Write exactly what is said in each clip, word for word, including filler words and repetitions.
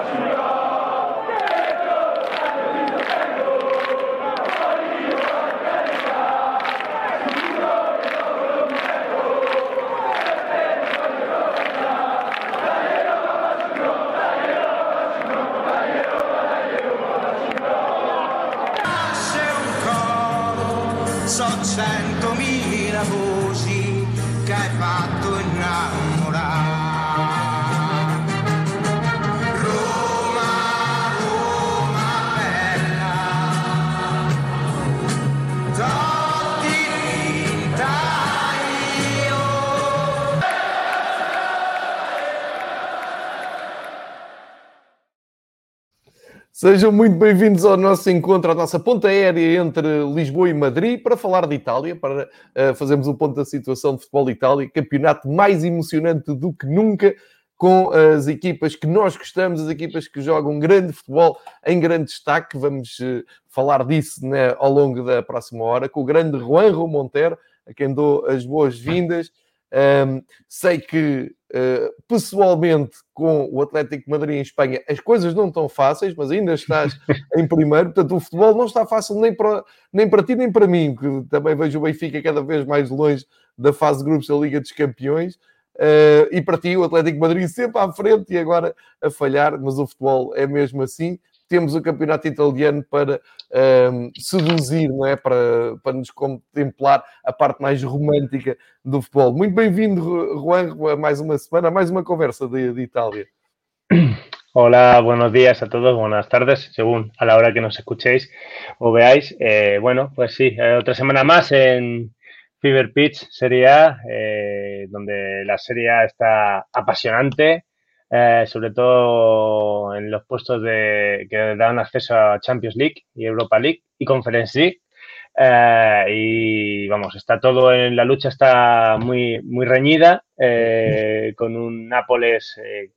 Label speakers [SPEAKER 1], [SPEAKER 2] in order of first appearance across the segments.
[SPEAKER 1] So centomila voci che hai fatto innamorare. Roma, Roma bella, Totti vinta io.
[SPEAKER 2] Sejam muito bem-vindos ao nosso encontro, à nossa ponta aérea entre Lisboa e Madrid, para falar de Itália, para uh, fazermos um ponto da situação de futebol de Itália, campeonato mais emocionante do que nunca, com as equipas que nós gostamos, as equipas que jogam grande futebol em grande destaque. Vamos uh, falar disso, né, ao longo da próxima hora, com o grande Juanjo Montero, a quem dou as boas-vindas. Um, sei que uh, pessoalmente com o Atlético de Madrid em Espanha as coisas não estão fáceis, mas ainda estás em primeiro, portanto o futebol não está fácil nem para, nem para ti nem para mim, porque também vejo o Benfica cada vez mais longe da fase de grupos da Liga dos Campeões, uh, e para ti o Atlético de Madrid sempre à frente e agora a falhar, mas o futebol é mesmo assim. Temos o campeonato italiano para um, seduzir, não é? Para, para nos contemplar a parte mais romântica do futebol. Muito bem-vindo, Juan, a mais uma semana, a mais uma conversa de, de Itália.
[SPEAKER 3] Hola, buenos días a todos, buenas tardes, según a la hora que nos escuchéis o veáis. Eh, bueno, pues sí, eh, otra semana más en Fever Pitch Serie A, eh, donde la Serie A está apasionante. Eh, sobre todo en los puestos de, que dan acceso a Champions League y Europa League y Conference League. Eh, y vamos, está todo en la lucha, está muy, muy reñida, eh, con un Nápoles eh,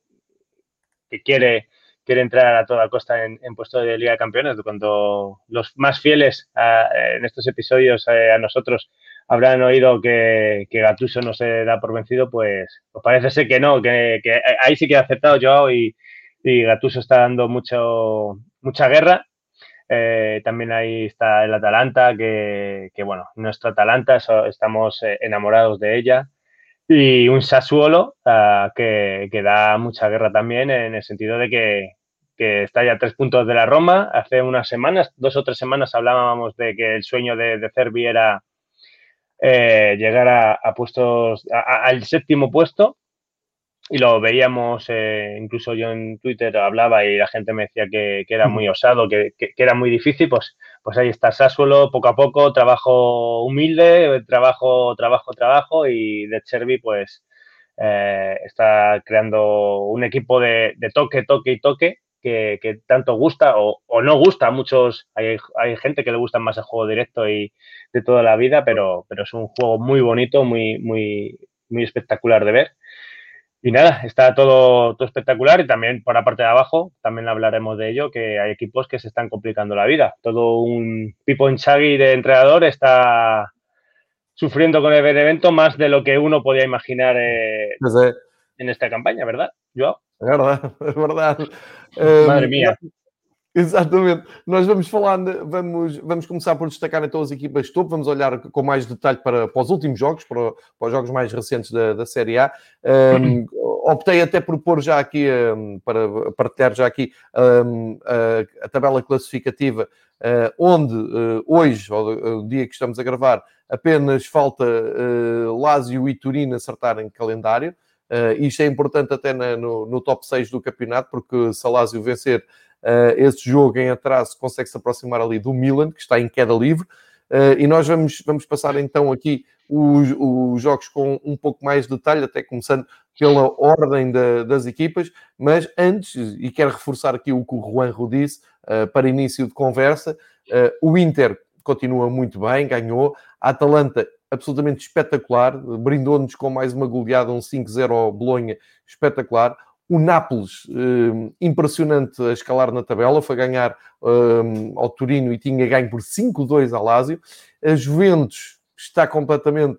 [SPEAKER 3] que quiere, quiere entrar a toda costa en, en puesto de Liga de Campeones. Cuando los más fieles a, en estos episodios eh, a nosotros habrán oído que, que Gattuso no se da por vencido, pues, pues parece ser que no, que, que ahí sí que ha aceptado Joao y, y Gattuso está dando mucho, mucha guerra. Eh, también ahí está el Atalanta, que, que bueno, nuestro Atalanta, so, estamos eh, enamorados de ella. Y un Sassuolo uh, que, que da mucha guerra también, en el sentido de que, que está ya a tres puntos de la Roma. Hace unas semanas, dos o tres semanas, hablábamos de que el sueño de, de Cervi era eh, llegar a, a puestos, a, a, al séptimo puesto, y lo veíamos, eh, incluso yo en Twitter hablaba y la gente me decía que, que era muy osado, que, que, que era muy difícil. Pues, pues ahí está Sassuolo, poco a poco, trabajo humilde, trabajo, trabajo, trabajo, y De Cervi pues eh, está creando un equipo de, de toque, toque y toque, que, que tanto gusta o, o no gusta a muchos. Hay, hay gente que le gusta más el juego directo y de toda la vida, pero, pero es un juego muy bonito, muy, muy, muy espectacular de ver. Y nada, está todo, todo espectacular. Y también por la parte de abajo, también hablaremos de ello, que hay equipos que se están complicando la vida. Todo un Pippo Inzaghi de entrenador está sufriendo con el Benevento más de lo que uno podía imaginar eh,
[SPEAKER 2] Mas é,
[SPEAKER 3] en esta campaña, ¿verdad, Joao?
[SPEAKER 2] é verdade, é verdade.
[SPEAKER 3] Madre
[SPEAKER 2] Um,
[SPEAKER 3] mía.
[SPEAKER 2] Exatamente. Nós vamos falar, vamos, vamos começar por destacar então as equipas de topo, vamos olhar com mais detalhe para, para os últimos jogos, para, para os jogos mais recentes da, da Série A. Um, optei até por pôr já aqui, um, para partilhar já aqui um, a, a tabela classificativa, uh, onde uh, hoje, o dia que estamos a gravar, apenas falta uh, Lazio e Torino acertarem calendário. Uh, isto é importante até na, no, no top seis do campeonato, porque se a Lazio vencer Uh, esse jogo em atraso consegue se aproximar ali do Milan, que está em queda livre, uh, e nós vamos, vamos passar então aqui os, os jogos com um pouco mais de detalhe, até começando pela ordem da, das equipas, mas antes, e quero reforçar aqui o que o Juanjo disse, uh, para início de conversa, uh, o Inter continua muito bem, ganhou, a Atalanta absolutamente espetacular, brindou-nos com mais uma goleada, um cinco zero ao Bolonha, espetacular. O Nápoles, eh, impressionante a escalar na tabela, foi ganhar eh, ao Torino e tinha ganho por cinco dois ao Lazio. A Juventus está completamente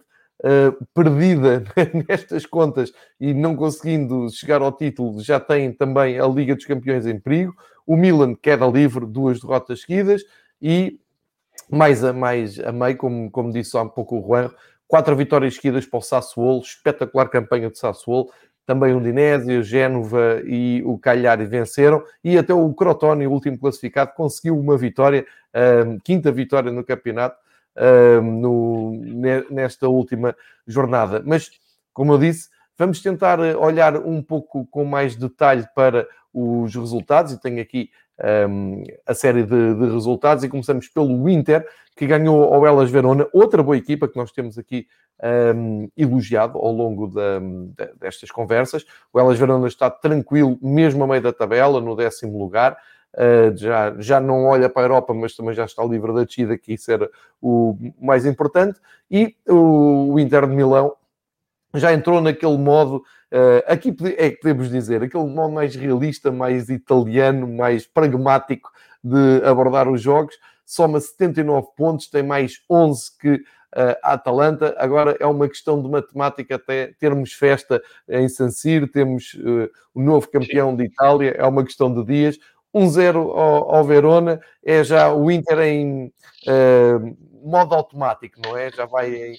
[SPEAKER 2] uh, perdida nestas contas e não conseguindo chegar ao título, já tem também a Liga dos Campeões em perigo. O Milan queda livre, duas derrotas seguidas e mais a, mais a meio, como, como disse há um pouco o Juan, quatro vitórias seguidas para o Sassuolo, espetacular campanha de Sassuolo. Também o Udinese, o Génova e o Cagliari venceram. E até o Crotone, o último classificado, conseguiu uma vitória, um, quinta vitória no campeonato, um, no, nesta última jornada. Mas, como eu disse, vamos tentar olhar um pouco com mais detalhe para os resultados. E tenho aqui um, a série de, de resultados. E começamos pelo Inter, que ganhou ao Hellas Verona, outra boa equipa que nós temos aqui Um, elogiado ao longo da, de, destas conversas. O Hellas Verona está tranquilo, mesmo a meio da tabela, no décimo lugar. Uh, já, já não olha para a Europa, mas também já está livre da descida, que isso era o mais importante. E o, o Inter de Milão já entrou naquele modo, uh, aqui é que podemos dizer, aquele modo mais realista, mais italiano, mais pragmático de abordar os jogos. Soma setenta e nove pontos, tem mais onze que a Atalanta. Agora é uma questão de matemática até termos festa em San Siro, temos uh, o novo campeão de Itália, é uma questão de dias. um zero ao, ao Verona, é já o Inter em uh, modo automático, não é? Já vai em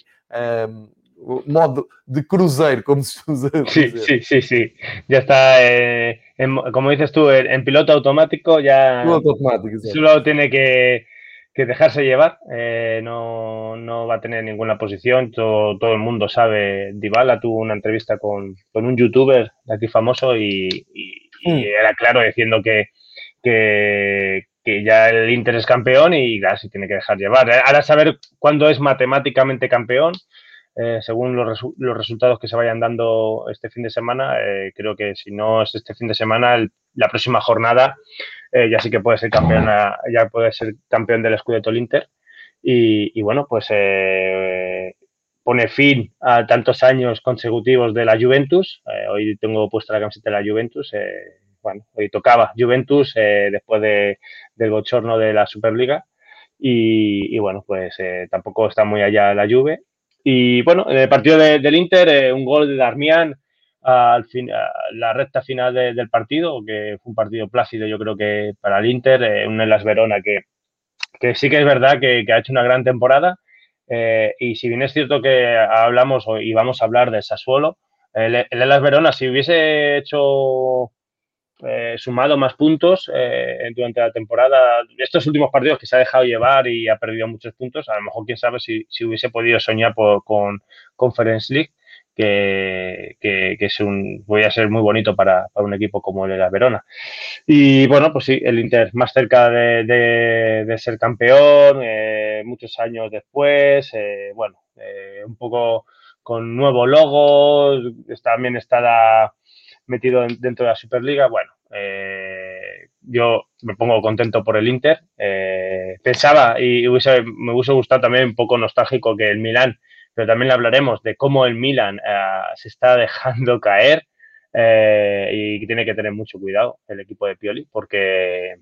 [SPEAKER 2] uh, modo de cruzeiro, como se usa dizer.
[SPEAKER 3] Sí, sí, sí, sí. Ya está, eh, en, como dices tú, en, en piloto automático ya
[SPEAKER 2] Piloto automático, exacto.
[SPEAKER 3] solo tiene que que dejarse llevar, eh, no, no va a tener ninguna posición, todo, todo el mundo sabe. Dybala tuvo una entrevista con, con un youtuber de aquí famoso y, y, y mm. era claro diciendo que, que, que ya el Inter es campeón y claro, se tiene que dejar llevar. Ahora saber cuándo es matemáticamente campeón, eh, según los, resu los resultados que se vayan dando este fin de semana, eh, creo que si no es este fin de semana, el, la próxima jornada Eh, ya sí que puede ser campeón, ya puede ser campeón del Scudetto el Inter y, y bueno, pues eh, pone fin a tantos años consecutivos de la Juventus. Eh, hoy tengo puesta la camiseta de la Juventus, eh, bueno, hoy tocaba Juventus eh, después de, del bochorno de la Superliga y, y bueno, pues eh, tampoco está muy allá la Juve. Y bueno, en el partido de, del Inter, eh, un gol de Darmian al fin, a la recta final de, del partido, que fue un partido plácido, yo creo que para el Inter, eh, un Hellas Verona que, que sí que es verdad que, que ha hecho una gran temporada, eh, y si bien es cierto que hablamos y vamos a hablar de Sassuolo, el, el Hellas Verona, si hubiese hecho eh, sumado más puntos eh, durante la temporada, estos últimos partidos que se ha dejado llevar y ha perdido muchos puntos, a lo mejor quién sabe si, si hubiese podido soñar por, con Conference League, Que, que, que es un, voy a ser muy bonito para, para un equipo como el de la Verona. Y bueno, pues sí, el Inter más cerca de, de, de ser campeón, eh, muchos años después, eh, bueno, eh, un poco con nuevo logo, también está metido dentro de la Superliga. Bueno, eh, yo me pongo contento por el Inter. Eh, pensaba y hubiese, me hubiese gustado también un poco nostálgico que el Milán, pero también le hablaremos de cómo el Milan uh, se está dejando caer eh, y tiene que tener mucho cuidado el equipo de Pioli porque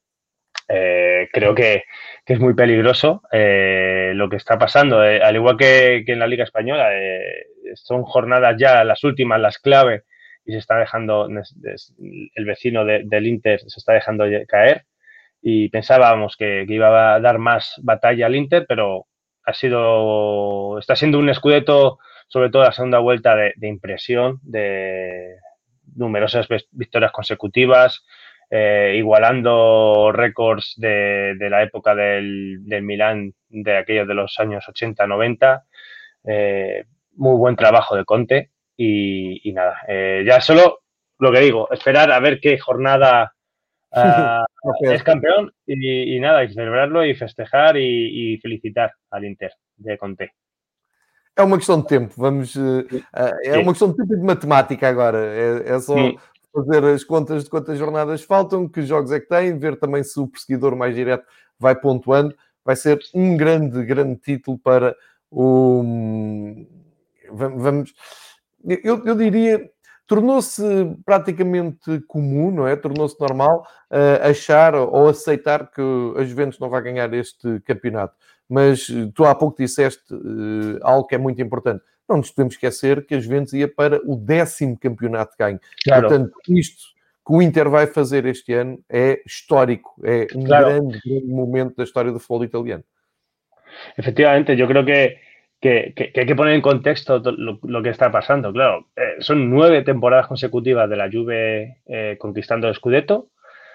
[SPEAKER 3] eh, creo que, que es muy peligroso eh, lo que está pasando. Eh, al igual que, que en la Liga Española, eh, son jornadas ya las últimas, las clave, y se está dejando, el vecino de, del Inter se está dejando caer y pensábamos que, que iba a dar más batalla al Inter, pero ha sido, está siendo un Scudetto, sobre todo la segunda vuelta, de, de impresión, de numerosas victorias consecutivas, eh, igualando récords de, de la época del, del Milán, de aquellos de los años ochenta noventa. Eh, muy buen trabajo de Conte y, y nada, eh, ya solo lo que digo, esperar a ver qué jornada Uh, okay. es campeón y, y nada, y celebrarlo y festejar y, y felicitar al Inter de Conte.
[SPEAKER 2] É uma questão de tempo, vamos, uh, é Sim. uma questão de tempo e de matemática agora, é, é só Sim. fazer as contas de quantas jornadas faltam, que jogos é que tem, ver também se o perseguidor mais direto vai pontuando, vai ser um grande, grande título para o... Vamos... Eu, eu diria... Tornou-se praticamente comum, não é? Tornou-se normal uh, achar ou aceitar que a Juventus não vai ganhar este campeonato. mas tu há pouco disseste uh, algo que é muito importante. Não nos podemos esquecer que a Juventus ia para o décimo campeonato de ganho.
[SPEAKER 3] Claro.
[SPEAKER 2] Portanto, isto que o Inter vai fazer este ano é histórico, é um
[SPEAKER 3] claro.
[SPEAKER 2] grande, grande momento da história do futebol italiano.
[SPEAKER 3] Efectivamente, yo creo que, que, que, que hay que poner en contexto lo, lo que está pasando. Claro, eh, son nueve temporadas consecutivas de la Juve eh, conquistando el Scudetto.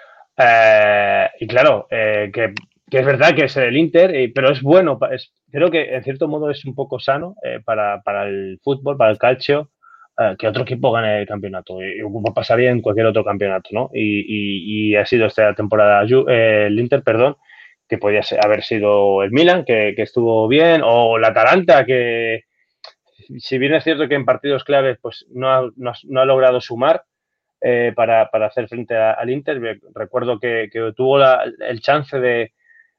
[SPEAKER 3] Eh, y claro, eh, que, que es verdad que es el Inter, eh, pero es bueno. Es, creo que en cierto modo es un poco sano eh, para, para el fútbol, para el calcio, eh, que otro equipo gane el campeonato. Y, y pasaría en cualquier otro campeonato, ¿no? Y, y, y ha sido esta temporada eh, el Inter, perdón, que podía ser, haber sido el Milan, que, que estuvo bien, o el Atalanta, que si bien es cierto que en partidos claves pues no ha, no ha, no ha logrado sumar eh, para, para hacer frente a, al Inter. Recuerdo que, que tuvo la, el chance de,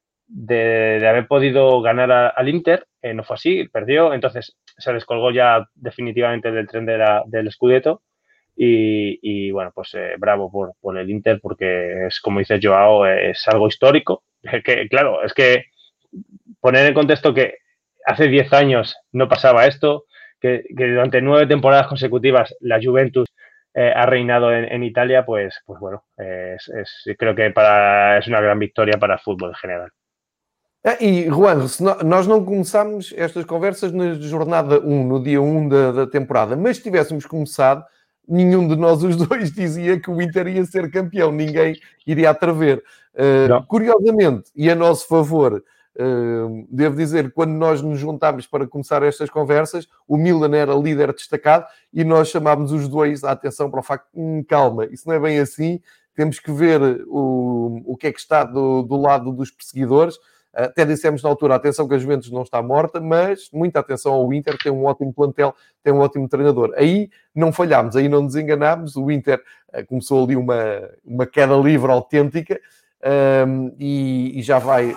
[SPEAKER 3] de, de haber podido ganar a, al Inter, eh, no fue así, perdió, entonces se descolgó ya definitivamente del tren de la, del Scudetto. Y, y bueno, pues eh, bravo por, por el Inter, porque es, como dice Joao, es algo histórico. Que, claro, es que poner en contexto que hace diez años no pasaba esto, que, que durante nueve temporadas consecutivas la Juventus eh, ha reinado en, en Italia, pues, pues bueno, eh, es, es, creo que para, es una gran victoria para el fútbol en general.
[SPEAKER 2] Ah, e, Juan, se no, nós não começámos estas conversas na jornada um, no dia um da, da temporada, mas se tivéssemos começado, nenhum de nós os dois dizia que o Inter ia ser campeão, ninguém iria atrever. Uh, curiosamente, e a nosso favor, uh, devo dizer que quando nós nos juntámos para começar estas conversas, o Milan era líder destacado e nós chamámos os dois a atenção para o facto de, hum, calma, isso não é bem assim, temos que ver o, o que é que está do, do lado dos perseguidores. Até dissemos na altura, atenção que a Juventus não está morta, mas muita atenção ao Inter, tem um ótimo plantel, tem um ótimo treinador. Aí não falhámos, aí não nos enganámos, o Inter uh, começou ali uma, uma queda livre autêntica um, e, e já vai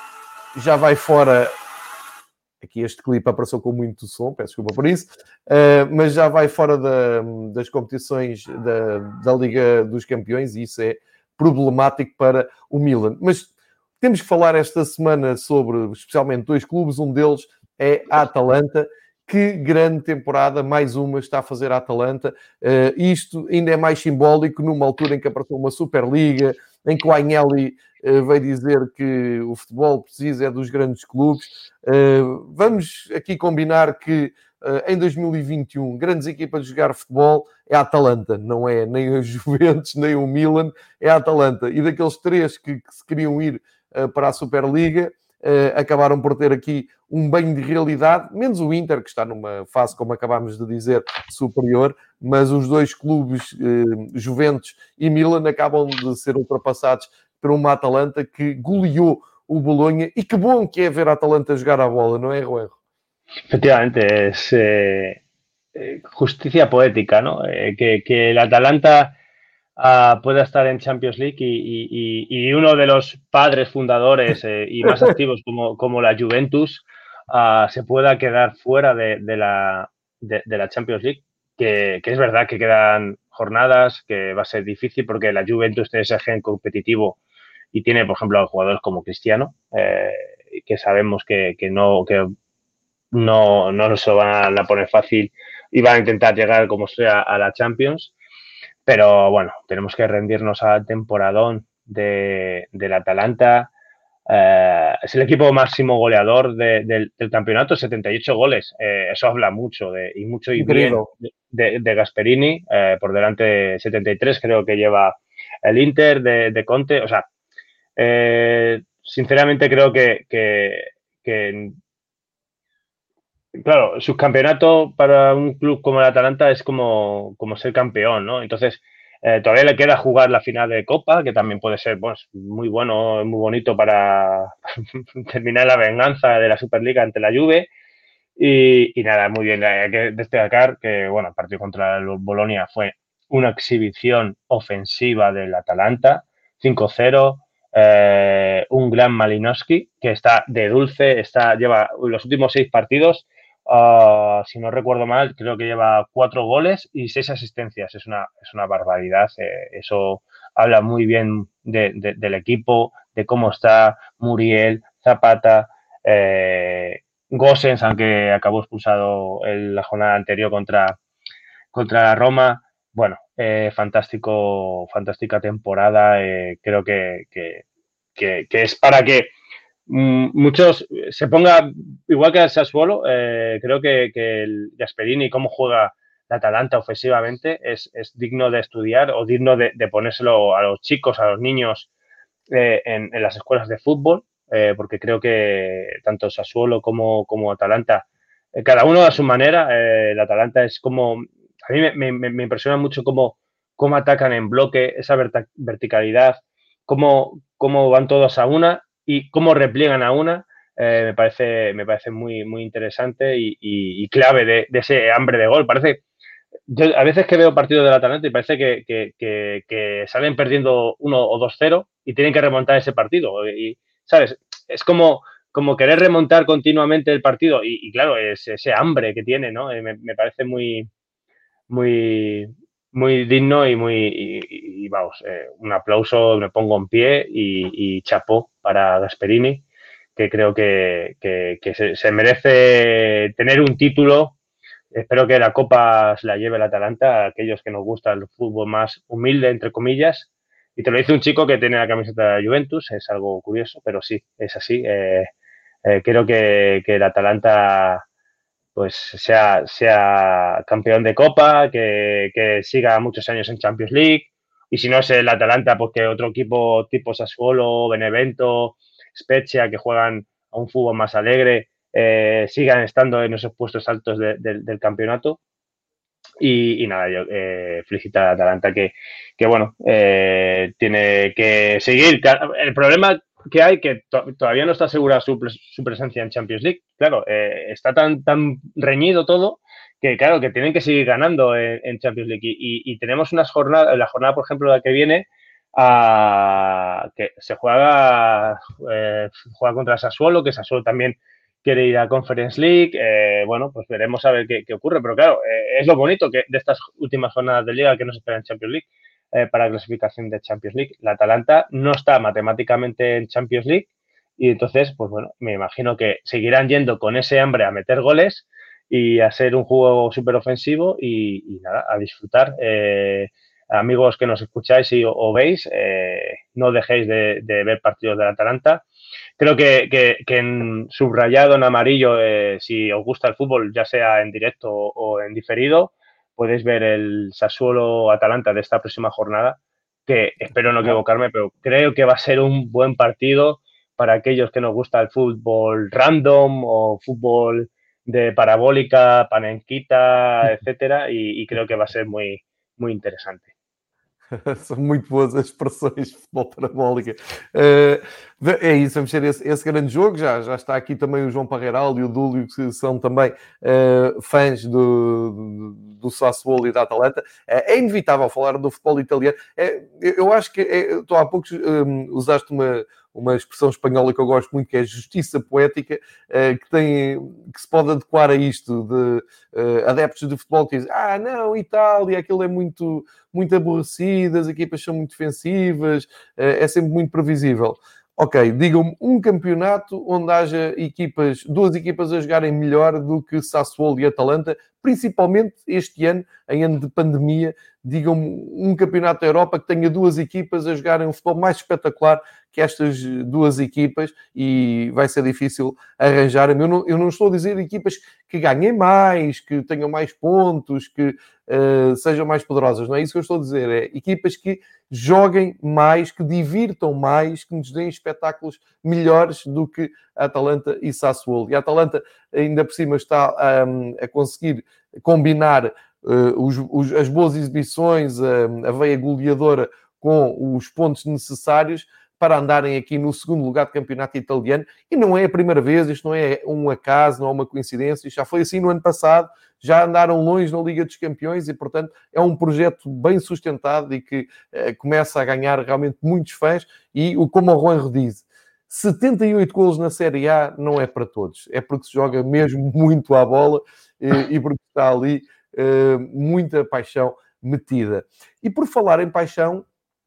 [SPEAKER 2] já vai fora. Aqui este clipe apareceu com muito som, peço desculpa por isso, uh, mas já vai fora da, das competições da, da Liga dos Campeões e isso é problemático para o Milan. Mas temos que falar esta semana sobre, especialmente, dois clubes. Um deles é a Atalanta. Que grande temporada, mais uma, está a fazer a Atalanta. Uh, isto ainda é mais simbólico numa altura em que apareceu uma Superliga, em que o Agnelli uh, veio dizer que o futebol precisa é dos grandes clubes. Uh, vamos aqui combinar que uh, em dois mil e vinte e um, grandes equipas de jogar futebol é a Atalanta, não é nem a Juventus, nem o Milan, é a Atalanta. E daqueles três que, que se queriam ir para a Superliga, uh, acabaram por ter aqui um banho de realidade, menos o Inter, que está numa fase, como acabámos de dizer, superior, mas os dois clubes, uh, Juventus e Milan, acabam de ser ultrapassados por uma Atalanta que goleou o Bologna, e que bom que é ver a Atalanta jogar a bola, não é, Ruero?
[SPEAKER 3] Efectivamente, es eh, justicia poética, ¿no? Eh, que, que el Atalanta Uh, pueda estar en Champions League y, y, y uno de los padres fundadores eh, y más activos como, como la Juventus uh, se pueda quedar fuera de, de, la, de, de la Champions League, que, que es verdad que quedan jornadas, que va a ser difícil porque la Juventus tiene ese gen competitivo y tiene, por ejemplo, jugadores como Cristiano, eh, que sabemos que, que, no, que no, no se van a poner fácil y van a intentar llegar como sea a la Champions. Pero bueno, tenemos que rendirnos al temporadón de, del Atalanta. Eh, es el equipo máximo goleador de, de, del campeonato, setenta y ocho goles. Eh, eso habla mucho de, y mucho y bien de, de, de Gasperini. Eh, por delante de setenta y tres creo que lleva el Inter de, de Conte. O sea, eh, sinceramente creo que, que, que claro, subcampeonato para un club como el Atalanta es como, como ser campeón, ¿no? Entonces, eh, todavía le queda jugar la final de Copa, que también puede ser pues, muy bueno, muy bonito para terminar la venganza de la Superliga ante la Juve. Y, y nada, muy bien, hay que destacar que, bueno, el partido contra el Bologna fue una exhibición ofensiva del Atalanta, cinco cero. Eh, un gran Malinowski que está de dulce, está, lleva los últimos seis partidos. Uh, si no recuerdo mal, creo que lleva cuatro goles y seis asistencias. Es una, es una barbaridad. Eh, eso habla muy bien de, de, del equipo, de cómo está Muriel, Zapata, Eh, Gosens, aunque acabó expulsado en la jornada anterior contra, contra Roma, bueno, eh, fantástico, fantástica temporada. Eh, creo que, que, que, que es para que mm, muchos se ponga, igual que el Sassuolo, eh, creo que, que el Gasperini, cómo juega la Atalanta ofensivamente, es, es digno de estudiar o digno de, de ponérselo a los chicos, a los niños eh, en, en las escuelas de fútbol. Eh, porque creo que tanto Sassuolo como, como Atalanta, eh, cada uno a su manera, eh, el Atalanta es como, a mí me, me, me impresiona mucho cómo, cómo atacan en bloque, esa verta, verticalidad, cómo, cómo van todos a una y cómo repliegan a una, eh, me parece, me parece muy, muy interesante y, y, y clave de, de ese hambre de gol. Parece, yo a veces que veo partidos del Atalanta y parece que, que, que, que salen perdiendo uno o dos cero y tienen que remontar ese partido. Y, ¿sabes? Es como, como querer remontar continuamente el partido y, y claro, es ese hambre que tiene, ¿no? Eh, me, me, parece muy, muy, muy digno y muy, y, y vamos, eh, un aplauso, me pongo en pie y, y chapó para Gasperini, que creo que, que, que se, se merece tener un título. Espero que la Copa se la lleve el Atalanta a aquellos que nos gusta el fútbol más humilde, entre comillas. Y te lo dice un chico que tiene la camiseta de Juventus, es algo curioso, pero sí, es así. Eh, eh, creo que, que el Atalanta pues sea, sea campeón de Copa, que, que siga muchos años en Champions League. Y si no es el Atalanta, pues que otro equipo tipo Sassuolo, Benevento, Spezia, que juegan a un fútbol más alegre, eh, sigan estando en esos puestos altos de, de, del campeonato. Y, y nada, yo eh, felicitar a Atalanta que, que bueno, eh, tiene que seguir. El problema que hay que to todavía no está asegurada su, su presencia en Champions League. Claro, eh, está tan, tan reñido todo que, claro, que tienen que seguir ganando en, en Champions League. Y, y, y tenemos unas jornadas, la jornada, por ejemplo, la que viene, a, que se juega, eh, juega contra Sassuolo, que Sassuolo también quiere ir a Conference League. Eh, bueno, pues veremos a ver qué, qué ocurre. Pero claro, eh, es lo bonito que de estas últimas jornadas de Liga que nos esperan en Champions League. Eh, para clasificación de Champions League. La Atalanta no está matemáticamente en Champions League y entonces, pues bueno, me imagino que seguirán yendo con ese hambre a meter goles y a ser un juego súper ofensivo y, y nada, a disfrutar. Eh, amigos que nos escucháis y o, o veis, eh, no dejéis de, de ver partidos de la Atalanta. Creo que, que, que en subrayado en amarillo, eh, si os gusta el fútbol, ya sea en directo o, o en diferido, podéis ver el Sassuolo-Atalanta de esta próxima jornada, que espero no equivocarme, pero creo que va a ser un buen partido para aquellos que nos gusta el fútbol random o fútbol de parabólica, panenquita, etcétera, y, y creo que va a ser muy, muy interesante.
[SPEAKER 2] São muito boas as expressões de futebol parabólica. Uh, é isso, vamos ter esse, esse grande jogo. Já, já está aqui também o João Parreiral e o Dúlio, que são também uh, fãs do, do, do Sassuolo e da Atalanta. Uh, é inevitável falar do futebol italiano. Uh, eu acho que é, tu há pouco um, usaste uma, uma expressão espanhola que eu gosto muito, que é justiça poética, uh, que, tem, que se pode adequar a isto de uh, adeptos de futebol que dizem: ah, não, Itália, aquilo é muito, muito aborrecido, as equipas são muito defensivas, uh, é sempre muito previsível. Ok, digam-me um campeonato onde haja equipas, duas equipas a jogarem melhor do que Sassuolo e Atalanta, principalmente este ano, em ano de pandemia. Digam-me um campeonato da Europa que tenha duas equipas a jogarem um futebol mais espetacular que estas duas equipas, e vai ser difícil arranjar. Eu não, eu não estou a dizer equipas que ganhem mais, que tenham mais pontos, que uh, sejam mais poderosas. Não é isso que eu estou a dizer. É equipas que joguem mais, que divirtam mais, que nos deem espetáculos melhores do que a Atalanta e Sassuolo. E a Atalanta ainda por cima está um, a conseguir combinar uh, os, os, as boas exibições, a, a veia goleadora com os pontos necessários para andarem aqui no segundo lugar do campeonato italiano. E não é a primeira vez, isto não é um acaso, não é uma coincidência, isto já foi assim no ano passado, já andaram longe na Liga dos Campeões e, portanto, é um projeto bem sustentado e que uh, começa a ganhar realmente muitos fãs. E, como o Juanjo diz, setenta e oito golos na Série A não é para todos, é porque se joga mesmo muito à bola e, e porque está ali uh, muita paixão metida. E por falar em paixão,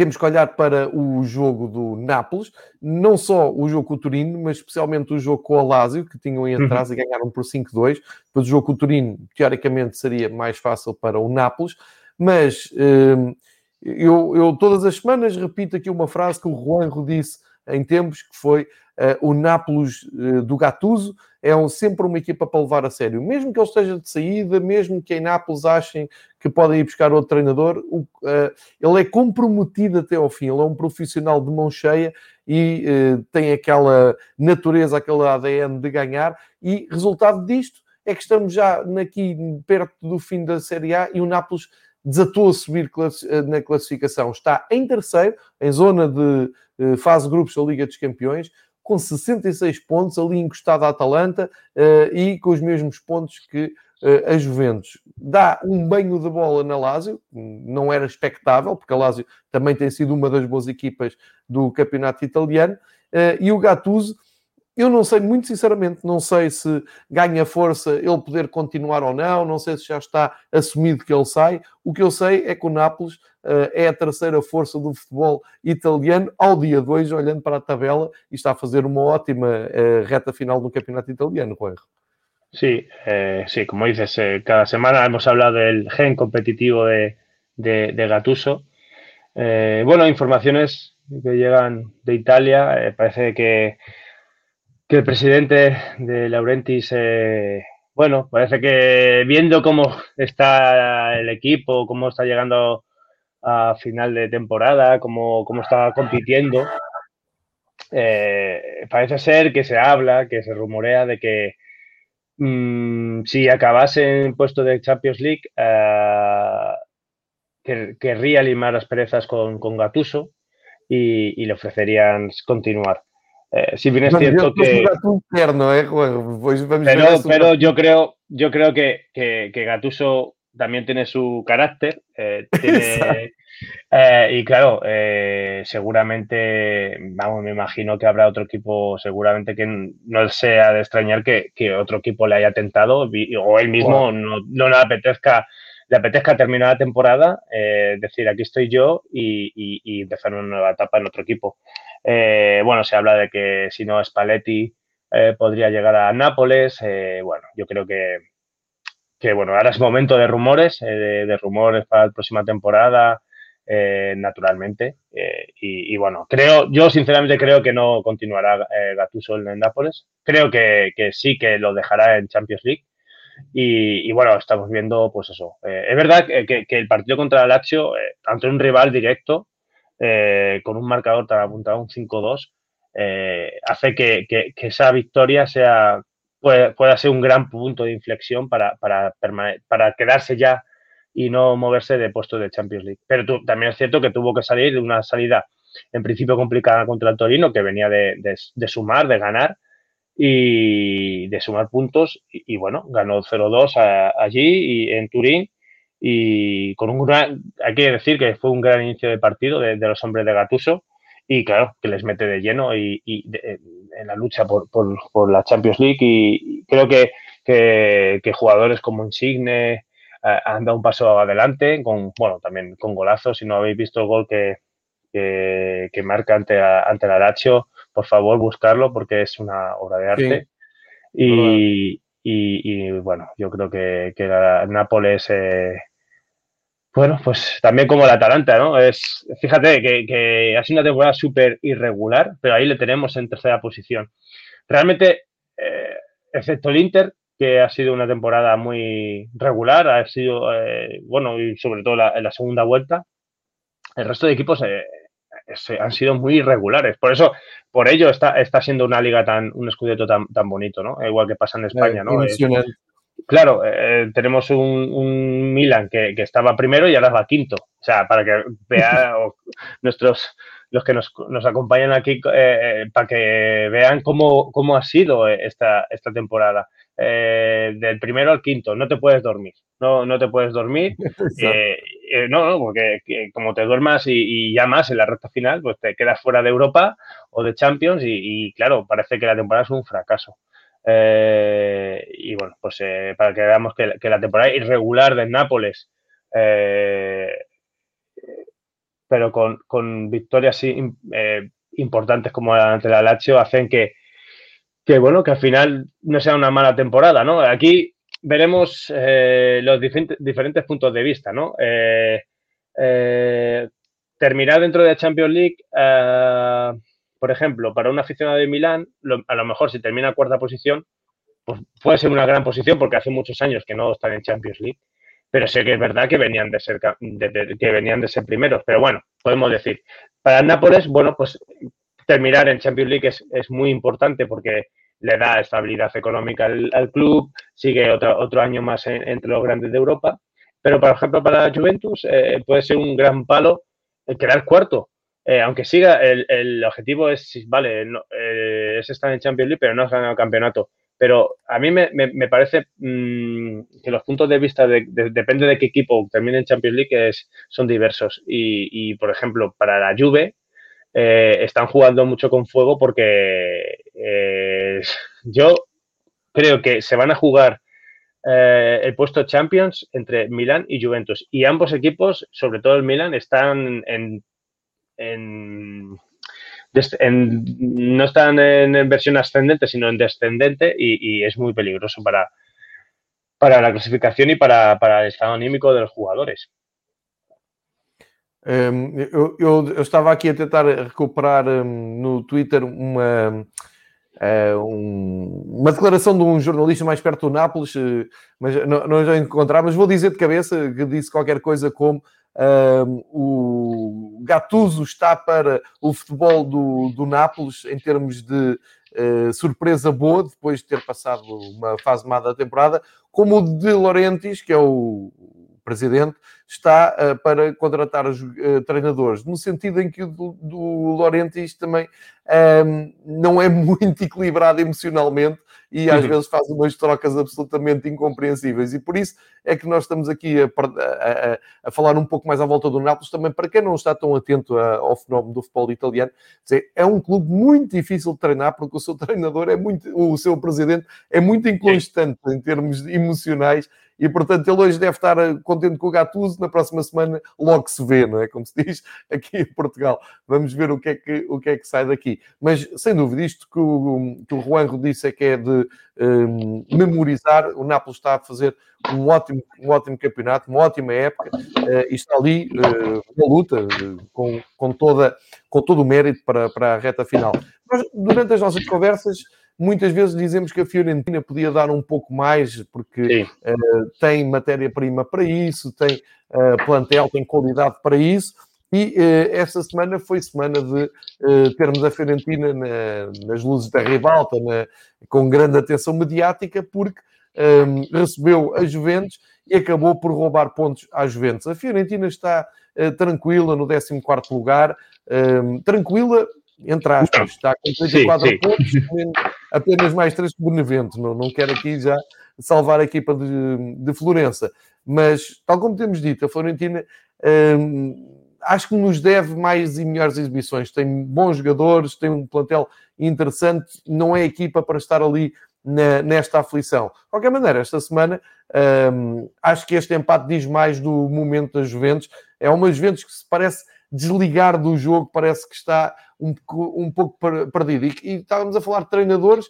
[SPEAKER 2] temos que olhar para o jogo do Nápoles, não só o jogo com o Torino, mas especialmente o jogo com o Lazio, que tinham em atrás uhum. e ganharam por cinco a dois. Depois o jogo com o Torino, teoricamente, seria mais fácil para o Nápoles, mas hum, eu, eu todas as semanas repito aqui uma frase que o Juanjo disse em tempos, que foi uh, o Nápoles uh, do Gattuso é um, sempre uma equipa para levar a sério. Mesmo que ele esteja de saída, mesmo que em Nápoles achem que podem ir buscar outro treinador, o, uh, ele é comprometido até ao fim. Ele é um profissional de mão cheia e uh, tem aquela natureza, aquele A D N de ganhar. E resultado disto é que estamos já aqui perto do fim da Série A e o Nápoles desatou a subir na classificação. Está em terceiro, em zona de uh, fase de grupos da Liga dos Campeões, com sessenta e seis pontos, ali encostado à Atalanta uh, e com os mesmos pontos que uh, a Juventus. Dá um banho de bola na Lazio, não era expectável, porque a Lazio também tem sido uma das boas equipas do campeonato italiano, uh, e o Gattuso, eu não sei, muito sinceramente, não sei se ganha força ele poder continuar ou não, não sei se já está assumido que ele sai. O que eu sei é que o Nápoles uh, é a terceira força do futebol italiano ao dia dois, olhando para a tabela, e está a fazer uma ótima uh, reta final do campeonato italiano, Juanjo.
[SPEAKER 3] Sí, eh, sí, como dices, eh, cada semana hemos hablado del gen competitivo de, de, de Gattuso. Eh, bueno, informaciones que llegan de Italia, eh, parece que que el presidente de Laurentiis, eh, bueno, parece que viendo cómo está el equipo, cómo está llegando a final de temporada, cómo, cómo está compitiendo, eh, parece ser que se habla, que se rumorea de que mmm, si acabase en puesto de Champions League, eh, que, querría limar las perezas con, con Gattuso y, y le ofrecerían continuar. Eh, si bien es
[SPEAKER 2] bueno,
[SPEAKER 3] cierto que...
[SPEAKER 2] Interno, ¿eh? Bueno, pues vamos
[SPEAKER 3] pero
[SPEAKER 2] a
[SPEAKER 3] pero yo creo, yo creo que, que, que Gattuso también tiene su carácter. Eh, tiene, eh, y claro, eh, seguramente, vamos, me imagino que habrá otro equipo, seguramente que no sea de extrañar que, que otro equipo le haya tentado o él mismo wow. no, no le apetezca le apetezca terminar la temporada, eh, decir aquí estoy yo y, y, y empezar una nueva etapa en otro equipo. Eh, bueno, se habla de que si no Spalletti eh, podría llegar a Nápoles. Eh, bueno, yo creo que, que bueno, ahora es momento de rumores, eh, de, de rumores para la próxima temporada, eh, naturalmente. Eh, y, y bueno, creo, yo sinceramente creo que no continuará eh, Gattuso en Nápoles. Creo que, que sí que lo dejará en Champions League. Y, y bueno, estamos viendo, pues eso. Eh, es verdad que, que, que el partido contra el Lazio, eh, ante un rival directo, eh, con un marcador tan apuntado, un cinco dos, eh, hace que, que, que esa victoria sea pueda, pueda ser un gran punto de inflexión para, para, para quedarse ya y no moverse de puestos de Champions League. Pero tú, también es cierto que tuvo que salir de una salida en principio complicada contra el Torino, que venía de, de, de sumar, de ganar, y de sumar puntos y, y bueno, ganó cero dos allí y en Turín y con un gran, hay que decir que fue un gran inicio de partido de, de los hombres de Gattuso y claro, que les mete de lleno y, y de, en la lucha por, por, por la Champions League y, y creo que, que, que jugadores como Insigne eh, han dado un paso adelante con, bueno, también con golazos. Si no habéis visto el gol que, que, que marca ante, ante la Lazio, por favor, buscarlo porque es una obra de arte. Sí, y, y, y, bueno, yo creo que, que la Nápoles, eh, bueno, pues también como la Atalanta, ¿no? Es, fíjate que, que ha sido una temporada súper irregular, pero ahí le tenemos en tercera posición. Realmente, eh, excepto el Inter, que ha sido una temporada muy regular, ha sido, eh, bueno, y sobre todo la, en la segunda vuelta, el resto de equipos... Eh, han sido muy irregulares. Por eso, por ello está, está siendo una liga tan, un escudeto tan, tan bonito, ¿no? Igual que pasa en España, ¿no? Es, claro, eh, tenemos un, un Milan que, que estaba primero y ahora va quinto. O sea, para que vean nuestros, los que nos, nos acompañan aquí, eh, para que vean cómo, cómo ha sido esta, esta temporada. Eh, del primero al quinto, no te puedes dormir, no, no te puedes dormir, eh, eh, no, no, porque que, como te duermas y, y ya más en la recta final, pues te quedas fuera de Europa o de Champions y, y claro, parece que la temporada es un fracaso. Eh, y bueno, pues eh, para que veamos que, que la temporada irregular del Nápoles eh, pero con, con victorias eh, importantes como ante la Lazio hacen que, que, bueno, que al final no sea una mala temporada, ¿no? Aquí veremos eh, los diferentes, diferentes puntos de vista, ¿no? Eh, eh, terminar dentro de la Champions League, eh, por ejemplo, para un aficionado de Milán, lo, a lo mejor si termina en cuarta posición, pues puede ser una gran posición porque hace muchos años que no están en Champions League, pero sé que es verdad que venían de ser de, de, que venían de ser primeros, pero bueno, podemos decir, para el Nápoles, bueno, pues terminar en Champions League es, es muy importante porque le da estabilidad económica al, al club, sigue otro, otro año más en, entre los grandes de Europa, pero por ejemplo para la Juventus eh, puede ser un gran palo el quedar cuarto, eh, aunque siga, el, el objetivo es, vale, no, eh, es estar en Champions League, pero no has ganado el campeonato. Pero a mí me, me, me parece mmm, que los puntos de vista, de, de, depende de qué equipo termine en Champions League, es, son diversos. Y, y, por ejemplo, para la Juve, eh, están jugando mucho con fuego porque eh, yo creo que se van a jugar eh, el puesto Champions entre Milán y Juventus. Y ambos equipos, sobre todo el Milán, están en... en En, no están en, en versión ascendente, sino en descendente y, y es muy peligroso para, para la clasificación y para, para el estado anímico de los jugadores.
[SPEAKER 2] Um, eu, eu, eu estava aqui a tentar recuperar um, no Twitter uma, uh, um, uma declaração de um jornalista mais perto do Nápoles, uh, mas não, não já encontrar, mas vou dizer de cabeça que disse qualquer coisa como Um, o Gattuso está para o futebol do, do Nápoles em termos de uh, surpresa boa, depois de ter passado uma fase má da temporada, como o De Laurentiis, que é o presidente, está uh, para contratar os uh, treinadores, no sentido em que o do, do Laurentiis também um, não é muito equilibrado emocionalmente e às uhum. vezes faz umas trocas absolutamente incompreensíveis. E por isso é que nós estamos aqui a, a, a falar um pouco mais à volta do Nápoles, também para quem não está tão atento a, ao fenómeno do futebol italiano. Dizer, é um clube muito difícil de treinar, porque o seu treinador é muito, o seu presidente é muito inconstante em termos emocionais. E, portanto, ele hoje deve estar contente com o Gattuso, na próxima semana logo se vê, não é? Como se diz aqui em Portugal. Vamos ver o que é que, o que, é que sai daqui. Mas, sem dúvida, isto que o, que o Juanjo disse é que é de um, memorizar. O Nápoles está a fazer um ótimo, um ótimo campeonato, uma ótima época, uh, e está ali uh, na luta, uh, com, com, toda, com todo o mérito para, para a reta final. Nós, durante as nossas conversas, muitas vezes dizemos que a Fiorentina podia dar um pouco mais, porque uh, tem matéria-prima para isso, tem uh, plantel, tem qualidade para isso, e uh, esta semana foi semana de uh, termos a Fiorentina na, nas luzes da ribalta, na, com grande atenção mediática, porque um, recebeu a Juventus e acabou por roubar pontos à Juventus. A Fiorentina está uh, tranquila no décimo quarto lugar, um, tranquila, entre aspas, está com trinta e quatro sim, sim. pontos, apenas mais três que o Benevento. Não, não quero aqui já salvar a equipa de, de Florença. Mas, tal como temos dito, a Fiorentina hum, acho que nos deve mais e melhores exibições. Tem bons jogadores, tem um plantel interessante, não é equipa para estar ali na, nesta aflição. De qualquer maneira, esta semana hum, acho que este empate diz mais do momento das Juventus. É uma Juventus que se parece desligar do jogo, parece que está um, um pouco perdido. E, e estávamos a falar de treinadores,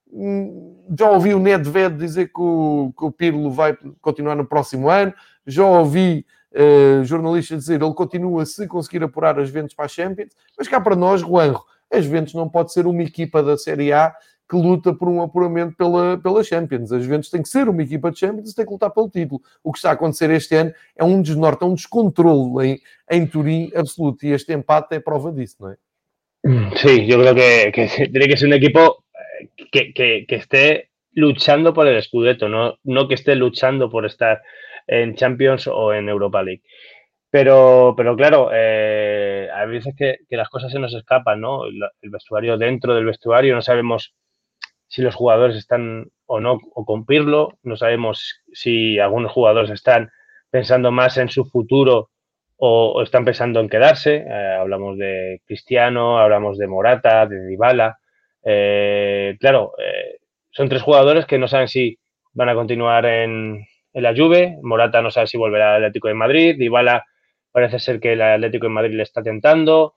[SPEAKER 2] já ouvi o Nedved dizer que o, que o Pirlo vai continuar no próximo ano, já ouvi uh, jornalistas dizer que ele continua se conseguir apurar as Juventus para a Champions, mas cá para nós, Juanjo, as Juventus não pode ser uma equipa da Série A que luta por um apuramento pela, pela Champions. As Juventus tem que ser uma equipa de Champions e tem que lutar pelo título. O que está a acontecer este ano é um desnorte, é um descontrole em, em Turim absoluto. E este empate é prova disso, não é?
[SPEAKER 3] Sí, yo creo que, que tiene que ser un equipo que, que, que esté luchando por el Scudetto, no, no que esté luchando por estar en Champions o en Europa League. Pero, pero claro, eh, hay veces que, que las cosas se nos escapan, ¿no? El, el vestuario, dentro del vestuario, no sabemos si los jugadores están o no, o con Pirlo, no sabemos si algunos jugadores están pensando más en su futuro o, o están pensando en quedarse. Eh, hablamos de Cristiano, hablamos de Morata, de Dybala. Eh, claro, eh, son tres jugadores que no saben si van a continuar en, en la Juve. Morata no sabe si volverá al Atlético de Madrid. Dybala parece ser que el Atlético de Madrid le está tentando.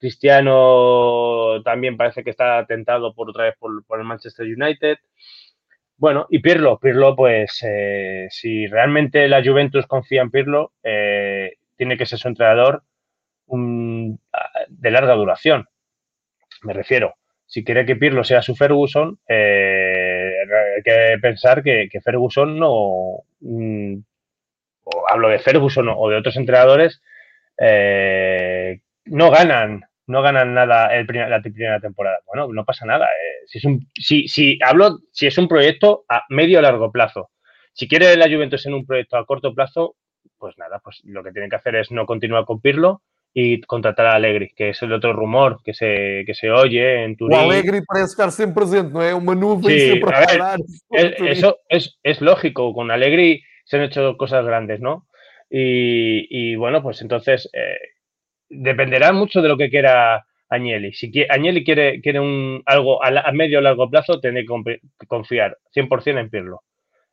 [SPEAKER 3] Cristiano también parece que está tentado por otra vez por, por el Manchester United. Bueno, y Pirlo, Pirlo, pues eh, si realmente la Juventus confía en Pirlo, eh, tiene que ser su entrenador un, de larga duración. Me refiero, si quiere que Pirlo sea su Ferguson, eh, hay que pensar que, que Ferguson no, mm, o hablo de Ferguson o de otros entrenadores, eh, no ganan no ganan nada el primer, la primera temporada. Bueno, no pasa nada. Eh, si, es un, si, si hablo, si es un proyecto a medio o largo plazo. Si quiere la Juventus en un proyecto a corto plazo, pues nada, pues lo que tienen que hacer es no continuar con Pirlo y contratar a Allegri, que es el otro rumor que se, que se oye en Turín.
[SPEAKER 2] O Allegri parece estar sempre presente, não é? Uma nuvem
[SPEAKER 3] Sí,
[SPEAKER 2] sempre a,
[SPEAKER 3] a ver,
[SPEAKER 2] parar.
[SPEAKER 3] es, eso es, es lógico. Con Allegri se han hecho cosas grandes, ¿no? Y, y bueno, pues entonces eh, dependerá mucho de lo que quiera Agnelli. Si quiere, Agnelli quiere, quiere un, algo a, a medio o largo plazo, tiene que confiar cien por ciento en Pirlo.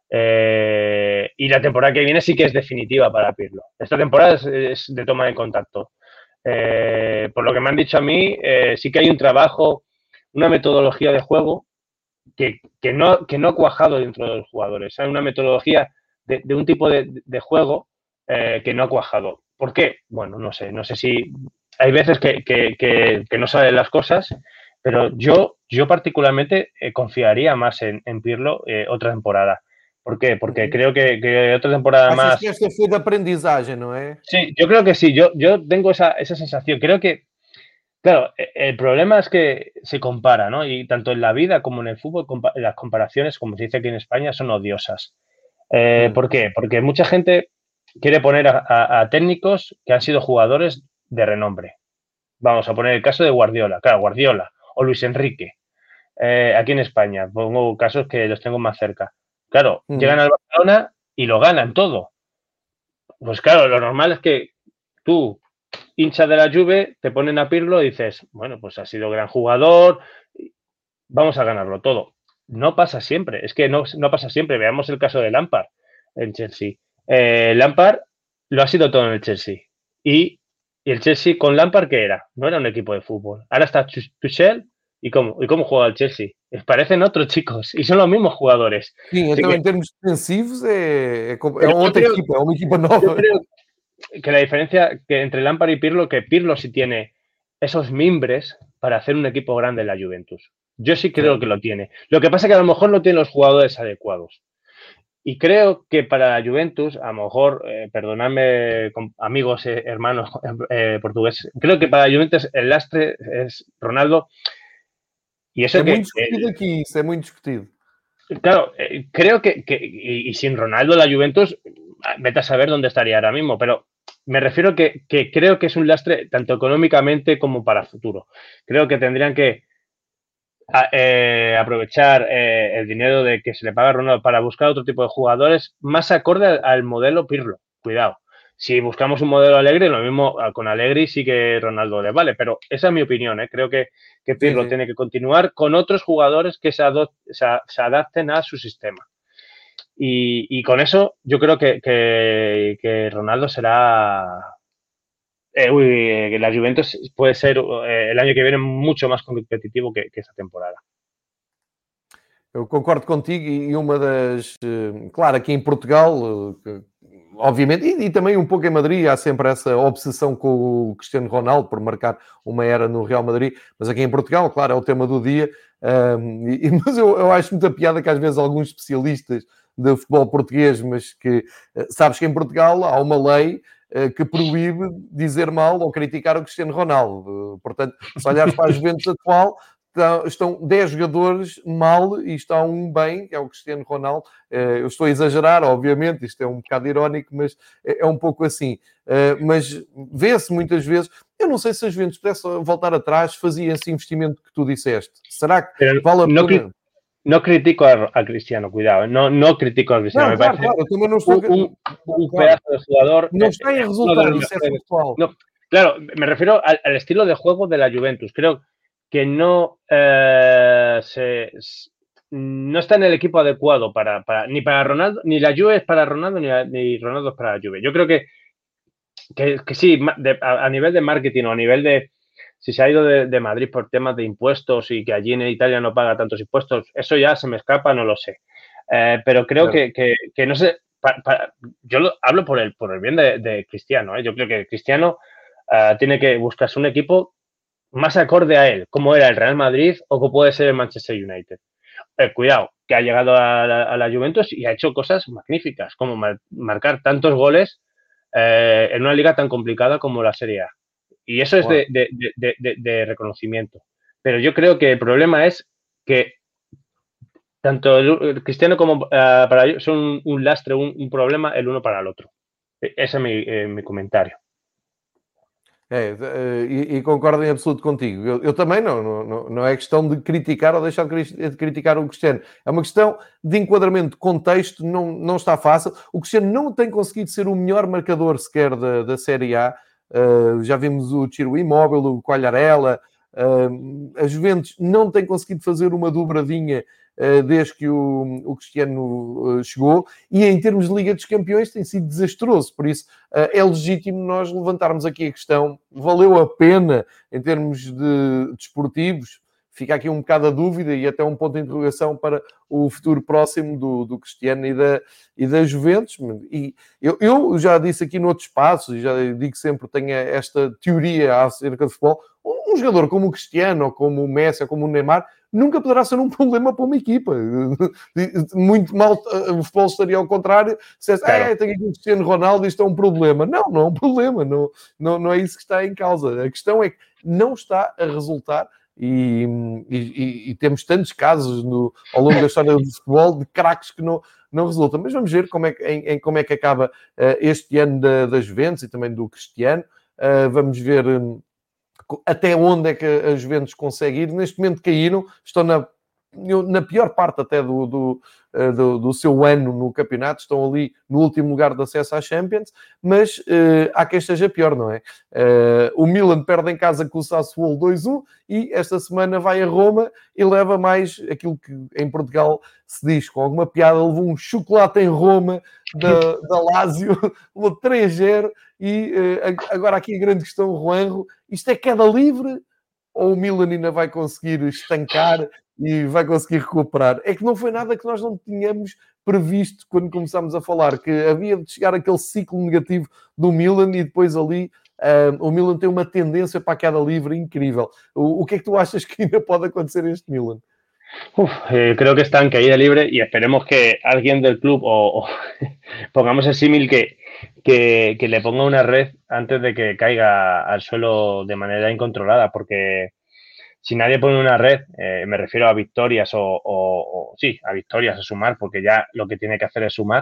[SPEAKER 3] Eh, y la temporada que viene sí que es definitiva para Pirlo. Esta temporada es, es de toma de contacto. Eh, por lo que me han dicho a mí, eh, sí que hay un trabajo, una metodología de juego que, que, no, que no ha cuajado dentro de los jugadores. Hay una metodología de, de un tipo de, de juego eh, que no ha cuajado. ¿Por qué? Bueno, no sé. No sé si hay veces que, que, que, que no salen las cosas, pero yo, yo particularmente eh, confiaría más en, en Pirlo eh, otra temporada. ¿Por qué? Porque uh-huh. creo que, que, otra temporada
[SPEAKER 2] Achas
[SPEAKER 3] más...
[SPEAKER 2] que esta fue de aprendizaje, ¿no es?
[SPEAKER 3] Sí, yo creo que sí. Yo, yo tengo esa, esa sensación. Creo que, claro, el problema es que se compara, ¿no? Y tanto en la vida como en el fútbol, las comparaciones, como se dice aquí en España, son odiosas. Eh, uh-huh. ¿Por qué? Porque mucha gente quiere poner a, a, a técnicos que han sido jugadores de renombre. Vamos a poner el caso de Guardiola, claro, Guardiola, o Luis Enrique, eh, aquí en España. Pongo casos que los tengo más cerca. Claro, uh-huh. llegan al Barcelona y lo ganan todo. Pues claro, lo normal es que tú, hincha de la Juve, te ponen a Pirlo y dices, bueno, pues ha sido gran jugador, vamos a ganarlo todo. No pasa siempre, es que no, no pasa siempre. Veamos el caso de Lampard en Chelsea. Eh, Lampard lo ha sido todo en el Chelsea. Y, y el Chelsea con Lampard, ¿qué era? No era un equipo de fútbol. Ahora está Tuchel. ¿Y cómo, ¿Y cómo juega el Chelsea? Parecen otros chicos y son los mismos jugadores.
[SPEAKER 2] Sí, então, que, en términos defensivos é, é, é outra creo, equipa, é uma equipa nova.
[SPEAKER 3] Yo creo que la diferencia que entre Lampard y Pirlo, que Pirlo sí tiene esos mimbres para hacer un equipo grande en la Juventus. Yo sí creo sí. que lo tiene. Lo que pasa es que a lo mejor no tiene los jugadores adecuados. Y creo que para la Juventus, a lo mejor, eh, perdonadme, amigos, eh, hermanos eh, portugueses, creo que para la Juventus el lastre es Ronaldo. Y eso
[SPEAKER 2] es
[SPEAKER 3] que,
[SPEAKER 2] muy discutido eh, aquí, es muy discutido.
[SPEAKER 3] Claro, eh, creo que, que y, y sin Ronaldo la Juventus, vete a saber dónde estaría ahora mismo, pero me refiero que, que creo que es un lastre tanto económicamente como para el futuro. Creo que tendrían que a, eh, aprovechar eh, el dinero de que se le paga a Ronaldo para buscar otro tipo de jugadores más acorde al, al modelo Pirlo. Cuidado. Si buscamos un modelo Allegri, lo mismo con Allegri sí que Ronaldo le vale, pero esa es mi opinión, ¿eh? Creo que, que Pirlo sí, sí. tiene que continuar con otros jugadores que se, adop- se, se adapten a su sistema. Y, y con eso yo creo que, que, que Ronaldo será... Eh, uy, que la Juventus puede ser eh, el año que viene mucho más competitivo que, que esta temporada.
[SPEAKER 2] Eu concordo contigo e uma das... Claro, aqui em Portugal... Obviamente, e, e também um pouco em Madrid, há sempre essa obsessão com o Cristiano Ronaldo por marcar uma era no Real Madrid, mas aqui em Portugal, claro, é o tema do dia, um, e, mas eu, eu acho muita piada que às vezes alguns especialistas de futebol português, mas que, sabes que em Portugal há uma lei uh, que proíbe dizer mal ou criticar o Cristiano Ronaldo, uh, portanto, se olhares para a Juventus atual, estão dez jogadores mal e está um bem, que é o Cristiano Ronaldo. Eu estou a exagerar, obviamente, isto é um bocado irónico, mas é um pouco assim. Mas vê-se muitas vezes, eu não sei se a Juventus pudesse voltar atrás, fazia esse investimento que tu disseste. Será que Pero vale a
[SPEAKER 3] no
[SPEAKER 2] pena?
[SPEAKER 3] Cri- no critico a, a Cristiano, cuidado, no, no critico a Cristiano.
[SPEAKER 2] Não,
[SPEAKER 3] me
[SPEAKER 2] claro,
[SPEAKER 3] parece
[SPEAKER 2] claro, eu também não estou...
[SPEAKER 3] un, un, un
[SPEAKER 2] claro.
[SPEAKER 3] pedazo de jugador.
[SPEAKER 2] Não está em resultado, isso é factual.
[SPEAKER 3] No, claro, me refiero al, al estilo de juego de la Juventus. Creo que no eh, se, no está en el equipo adecuado para, para ni para Ronaldo, ni la Juve es para Ronaldo, ni, la, ni Ronaldo es para la Juve. Yo creo que que, que sí, de, a, a nivel de marketing o a nivel de si se ha ido de, de Madrid por temas de impuestos y que allí en Italia no paga tantos impuestos, eso ya se me escapa, no lo sé. Eh, pero creo
[SPEAKER 2] Claro.
[SPEAKER 3] que, que, que no sé, pa, pa, yo lo, hablo por el, por el bien de, de Cristiano. ¿eh? Yo creo que Cristiano uh, tiene que buscarse un equipo más acorde a él, como era el Real Madrid o como puede ser el Manchester United. Eh, cuidado, que ha llegado a la, a la Juventus y ha hecho cosas magníficas, como mar, marcar tantos goles eh, en una liga tan complicada como la Serie A. Y eso es de, de, de, de, de reconocimiento. Pero yo creo que el problema es que tanto el Cristiano como uh, para ellos son un, un lastre, un, un, problema el uno para el otro. Ese es mi, eh, mi comentario.
[SPEAKER 2] É, e, e concordo em absoluto contigo. Eu, eu também não, não, não é questão de criticar ou deixar de criticar o Cristiano. É uma questão de enquadramento de contexto, não, não está fácil. O Cristiano não tem conseguido ser o melhor marcador sequer da, da Série A. Uh, já vimos o Ciro Immobile, o Quagliarella. Uh, a Juventus não tem conseguido fazer uma dobradinha uh, desde que o, o Cristiano uh, chegou, e em termos de Liga dos Campeões tem sido desastroso. Por isso uh, é legítimo nós levantarmos aqui a questão: valeu a pena em termos de desportivos? Fica aqui um bocado a dúvida e até um ponto de interrogação para o futuro próximo do, do Cristiano e da, e da Juventus. E eu, eu já disse aqui noutros espaços, e já digo sempre, tenho esta teoria acerca de futebol: um jogador como o Cristiano, ou como o Messi, ou como o Neymar, nunca poderá ser um problema para uma equipa. Muito mal o futebol estaria ao contrário, se é, claro, ah, tenho aqui o Cristiano Ronaldo, isto é um problema. Não, não é um problema, não, não, não é isso que está em causa. A questão é que não está a resultar. E, e, e temos tantos casos no, ao longo da história do futebol de craques que não, não resultam. Mas vamos ver como é, em, em como é que acaba uh, este ano da, das Juventus e também do Cristiano. Uh, vamos ver um, até onde é que a Juventus consegue ir. Neste momento caíram, estão na, na pior parte até do, do, do, do seu ano no campeonato, estão ali no último lugar de acesso à Champions, mas uh, há quem esteja pior, não é? Uh, o Milan perde em casa com o Sassuolo dois a um e esta semana vai a Roma e leva mais aquilo que em Portugal se diz, com alguma piada, levou um chocolate em Roma da, da Lazio, levou três a zero e uh, agora aqui a grande questão, Juanjo, isto é queda livre ou o Milan ainda vai conseguir estancar e vai conseguir recuperar? É que não foi nada que nós não tínhamos previsto quando começámos a falar, que havia de chegar aquele ciclo negativo do Milan e depois ali uh, o Milan tem uma tendência para a queda livre incrível. O, o que é que tu achas que ainda pode acontecer a este Milan?
[SPEAKER 3] Uf, eh, creo que está en caída libre y esperemos que alguien del club o, o pongamos el símil que, que, que le ponga una red antes de que caiga al suelo de manera incontrolada, porque si nadie pone una red, eh, me refiero a victorias o, o, o sí, a victorias, a sumar, porque ya lo que tiene que hacer es sumar,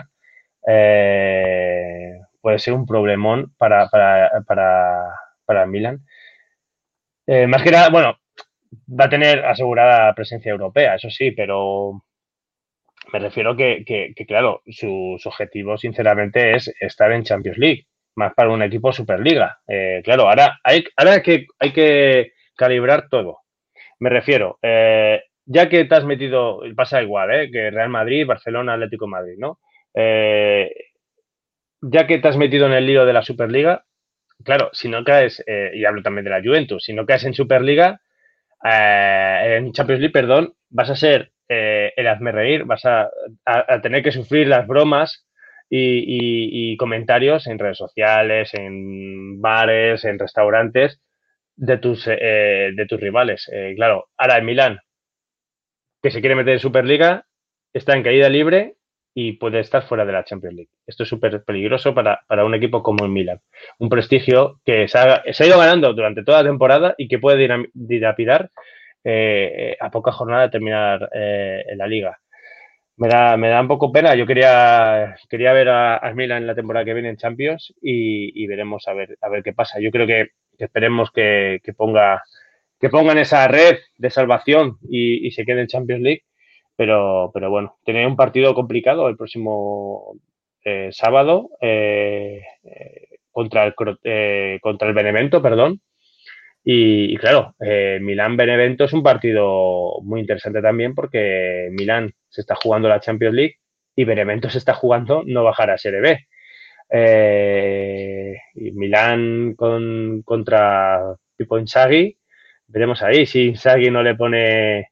[SPEAKER 3] eh, puede ser un problemón para, para, para, para el Milan. Eh, más que nada, bueno, va a tener asegurada presencia europea, eso sí, pero me refiero que, que, que claro, su, su objetivo, sinceramente, es estar en Champions League, más para un equipo Superliga. Eh, claro, ahora hay, ahora hay que, hay que calibrar todo. Me refiero, eh, ya que te has metido, pasa igual, ¿eh? Que Real Madrid, Barcelona, Atlético de Madrid, ¿no? Eh, ya que te has metido en el lío de la Superliga, claro, si no caes, eh, y hablo también de la Juventus, si no caes en Superliga, eh, en Champions League, perdón, vas a ser eh, el hazmerreír, vas a, a, a tener que sufrir las bromas y, y, y comentarios en redes sociales, en bares, en restaurantes, de tus, eh, de tus rivales. Eh, claro, ahora el Milán, que se quiere meter en Superliga, está en caída libre y puede estar fuera de la Champions League. Esto es súper peligroso para, para un equipo como el Milán. Un prestigio que se ha, se ha ido ganando durante toda la temporada y que puede dilapidar eh, a poca jornada de terminar eh, en la Liga. Me da, me da un poco pena. Yo quería, quería ver a, a Milan en la temporada que viene en Champions y, y veremos a ver, a ver qué pasa. Yo creo que, que esperemos que, que, ponga, que pongan esa red de salvación y, y se quede en Champions League. Pero, pero bueno, tiene un partido complicado el próximo eh, sábado eh, eh, contra, el, eh, contra el Benevento, perdón. Y, y claro, eh, Milán-Benevento es un partido muy interesante también porque Milán se está jugando la Champions League y Benevento se está jugando no bajar a Serie B. Eh, y Milán con, contra Pippo Inzaghi, veremos ahí si Inzaghi no le pone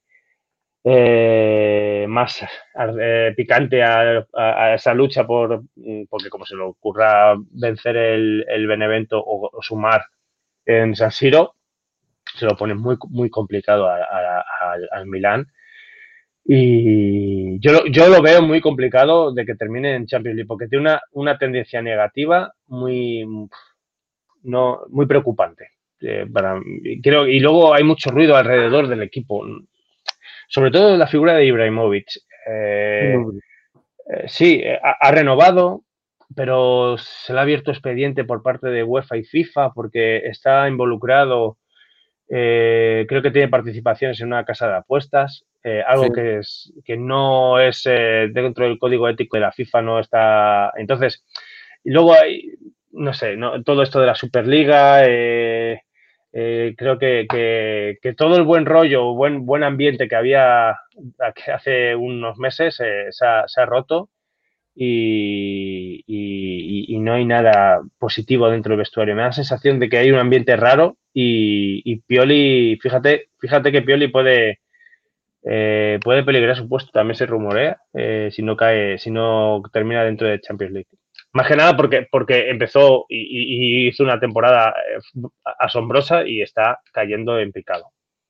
[SPEAKER 3] eh, más eh, picante a, a, a esa lucha por porque como se le ocurra vencer el, el Benevento o, o sumar en San Siro, se lo pone muy, muy complicado a, a, a, al Milán. Y yo, yo lo veo muy complicado de que termine en Champions League, porque tiene una, una tendencia negativa muy, no, muy preocupante. Eh, para, creo, y luego hay mucho ruido alrededor del equipo, sobre todo la figura de Ibrahimovic. Eh, eh, sí, ha, ha renovado, pero se le ha abierto expediente por parte de UEFA y FIFA porque está involucrado. Eh, creo que tiene participaciones en una casa de apuestas, eh, algo sí. que, es, que no es eh, dentro del código ético de la FIFA, no está. Entonces, y luego hay, no sé, no, todo esto de la Superliga, eh, eh, creo que, que, que todo el buen rollo, buen, buen ambiente que había hace unos meses eh, se, ha, se ha roto. Y, y, y no hay nada positivo dentro del vestuario. Me da la sensación de que hay un ambiente raro y, y Pioli, fíjate, fíjate que Pioli puede, eh, puede peligrar su puesto, también se rumorea, eh, si no cae, si no termina dentro de Champions League. Más que nada porque, porque empezó y, y hizo una temporada asombrosa y está cayendo en picado.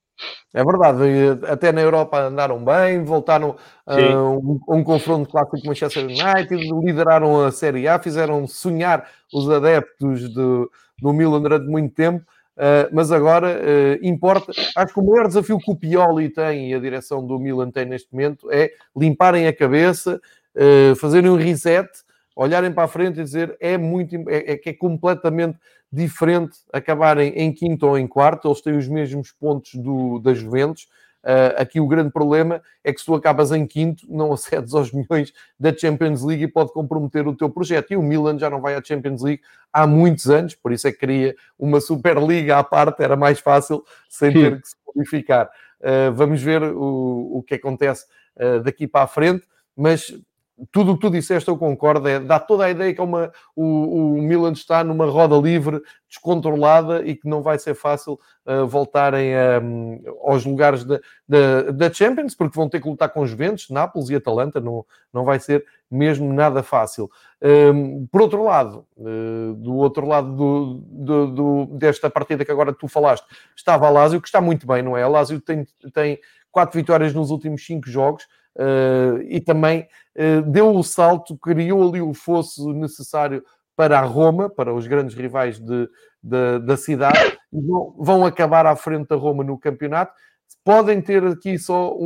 [SPEAKER 2] É verdade, até na Europa andaram bem, voltaram a uh, um, um confronto clássico com o Manchester United, lideraram a Série A, fizeram sonhar os adeptos de, do Milan durante muito tempo, uh, mas agora uh, importa. Acho que o maior desafio que o Pioli tem e a direção do Milan tem neste momento é limparem a cabeça, uh, fazerem um reset, olharem para a frente e dizer é muito é, é que é completamente diferente acabarem em quinto ou em quarto. Eles têm os mesmos pontos do, da Juventus. Uh, aqui o grande problema é que se tu acabas em quinto, não acedes aos milhões da Champions League e pode comprometer o teu projeto. E o Milan já não vai à Champions League há muitos anos, por isso é que queria uma Superliga à parte, era mais fácil sem Sim. ter que se qualificar. Uh, vamos ver o, o que acontece uh, daqui para a frente, mas tudo o que tu disseste eu concordo, é, dá toda a ideia que é uma, o, o Milan está numa roda livre, descontrolada e que não vai ser fácil uh, voltarem um, aos lugares da, da, da Champions, porque vão ter que lutar com Juventus, Nápoles e Atalanta, não, não vai ser mesmo nada fácil. Um, por outro lado, uh, do outro lado do, do, do, desta partida que agora tu falaste, estava a Lazio, que está muito bem, não é? A Lazio tem, tem quatro vitórias nos últimos cinco jogos, Uh, e também uh, deu o salto, criou ali o fosso necessário para a Roma, para os grandes rivais de, de, da cidade, e vão, vão acabar à frente da Roma no campeonato. Podem ter aqui só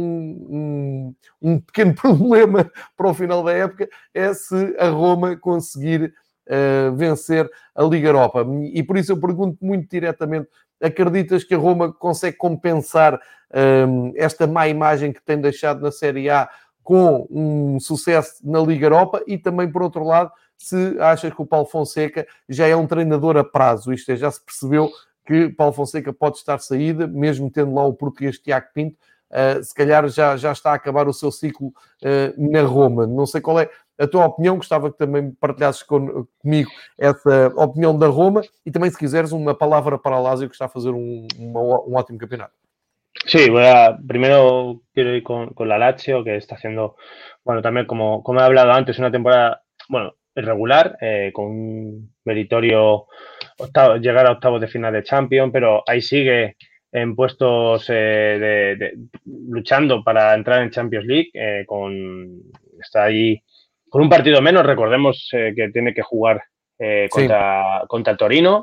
[SPEAKER 2] um, um, um pequeno problema para o final da época, é se a Roma conseguir uh, vencer a Liga Europa. E por isso eu pergunto muito diretamente, acreditas que a Roma consegue compensar um, esta má imagem que tem deixado na Série A com um sucesso na Liga Europa? E também, por outro lado, se achas que o Paulo Fonseca já é um treinador a prazo, isto é, já se percebeu que Paulo Fonseca pode estar de saída, mesmo tendo lá o português Tiago Pinto, uh, se calhar já, já está a acabar o seu ciclo uh, na Roma. Não sei qual é a tua opinião, gostava que também partilhasses com, comigo essa opinión da Roma y también, si quiseres, una palabra para el Lazio, que está a hacer un, un, un ótimo campeonato.
[SPEAKER 3] Sí, voy a, primero quiero ir con, con la Lazio, que está haciendo, bueno, también como, como he hablado antes, una temporada, bueno, irregular, eh, con un meritorio octavo, llegar a octavos de final de Champions, pero ahí sigue en puestos eh, de, de, luchando para entrar en Champions League, eh, con, está ahí con un partido menos. Recordemos eh, que tiene que jugar eh, contra, sí. contra el Torino.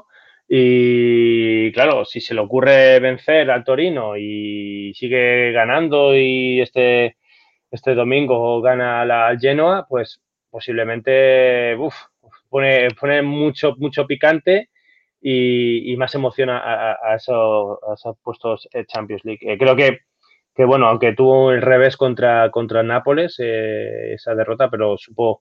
[SPEAKER 3] Y claro, si se le ocurre vencer al Torino y sigue ganando y este, este domingo gana la, al Genoa, pues posiblemente uf, pone, pone mucho, mucho picante y, y más emociona a, a, esos, a esos puestos de Champions League. Eh, creo que que bueno, aunque tuvo el revés contra, contra Nápoles, eh, esa derrota, pero supo,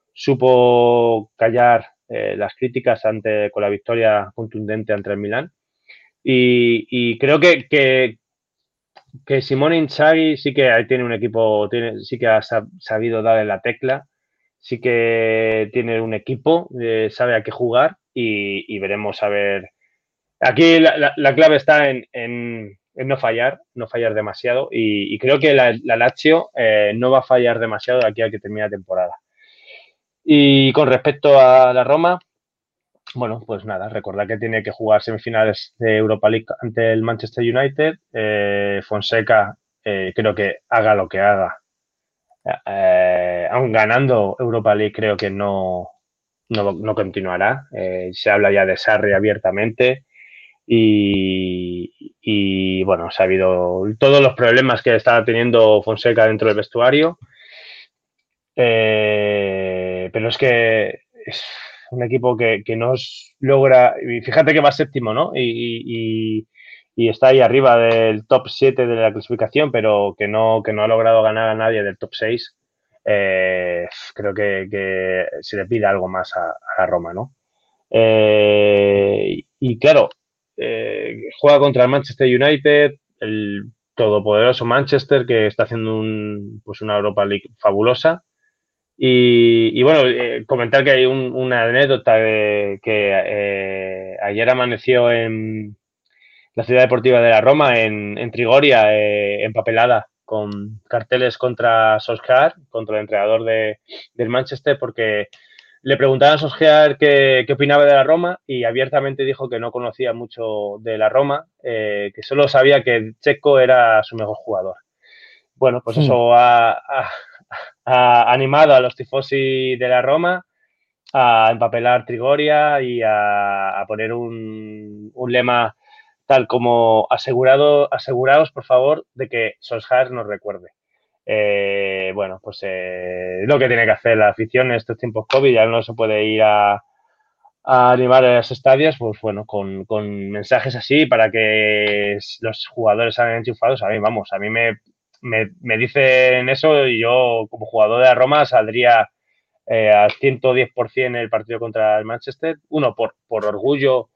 [SPEAKER 3] supo callar eh, las críticas ante, con la victoria contundente ante el Milán. Y, y creo que, que, que Simone Inzaghi sí que ahí tiene un equipo, tiene, sí que ha sabido darle la tecla, sí que tiene un equipo, eh, sabe a qué jugar y, y veremos a ver. Aquí la, la, la clave está en, en, en, no fallar, no fallar demasiado y, y creo que la, la Lazio eh, no va a fallar demasiado de aquí a que termine la temporada. Y con respecto a la Roma, bueno, pues nada, recordad que tiene que jugar semifinales de Europa League ante el Manchester United. Eh, Fonseca, eh, creo que haga lo que haga, eh, aun ganando Europa League, creo que no, no, no continuará. Eh, se habla ya de Sarri abiertamente y, y, bueno, se ha habido todos los problemas que estaba teniendo Fonseca dentro del vestuario. Eh, pero es que es un equipo que, que no logra, y fíjate que va séptimo, ¿no? Y, y, y está ahí arriba del top siete de la clasificación, pero que no, que no ha logrado ganar a nadie del top seis. Eh, creo que, que se le pide algo más a, a la Roma, ¿no? Eh, y claro, eh, juega contra el Manchester United, el todopoderoso Manchester, que está haciendo un, pues una Europa League fabulosa. Y, y bueno, eh, comentar que hay un, una anécdota de, que eh, ayer amaneció en la ciudad deportiva de la Roma, en, en Trigoria, eh, empapelada, con carteles contra Solskjaer, contra el entrenador de, del Manchester, porque le preguntaban a Solskjaer qué, qué opinaba de la Roma y abiertamente dijo que no conocía mucho de la Roma, eh, que solo sabía que Checo era su mejor jugador. Bueno, pues eso ha, ha, ha animado a los tifosi de la Roma a empapelar Trigoria y a, a poner un, un lema tal como asegurado, aseguraos, por favor, de que Solskjaer nos recuerde. Eh, bueno, pues eh, lo que tiene que hacer la afición en estos tiempos COVID, ya no se puede ir a, a animar a los estadios, pues bueno, con, con mensajes así para que los jugadores salgan enchufados. A mí, vamos, a mí me, me, me dicen eso y yo como jugador de la Roma saldría eh, al ciento diez por ciento en el partido contra el Manchester. Uno, por, por orgullo,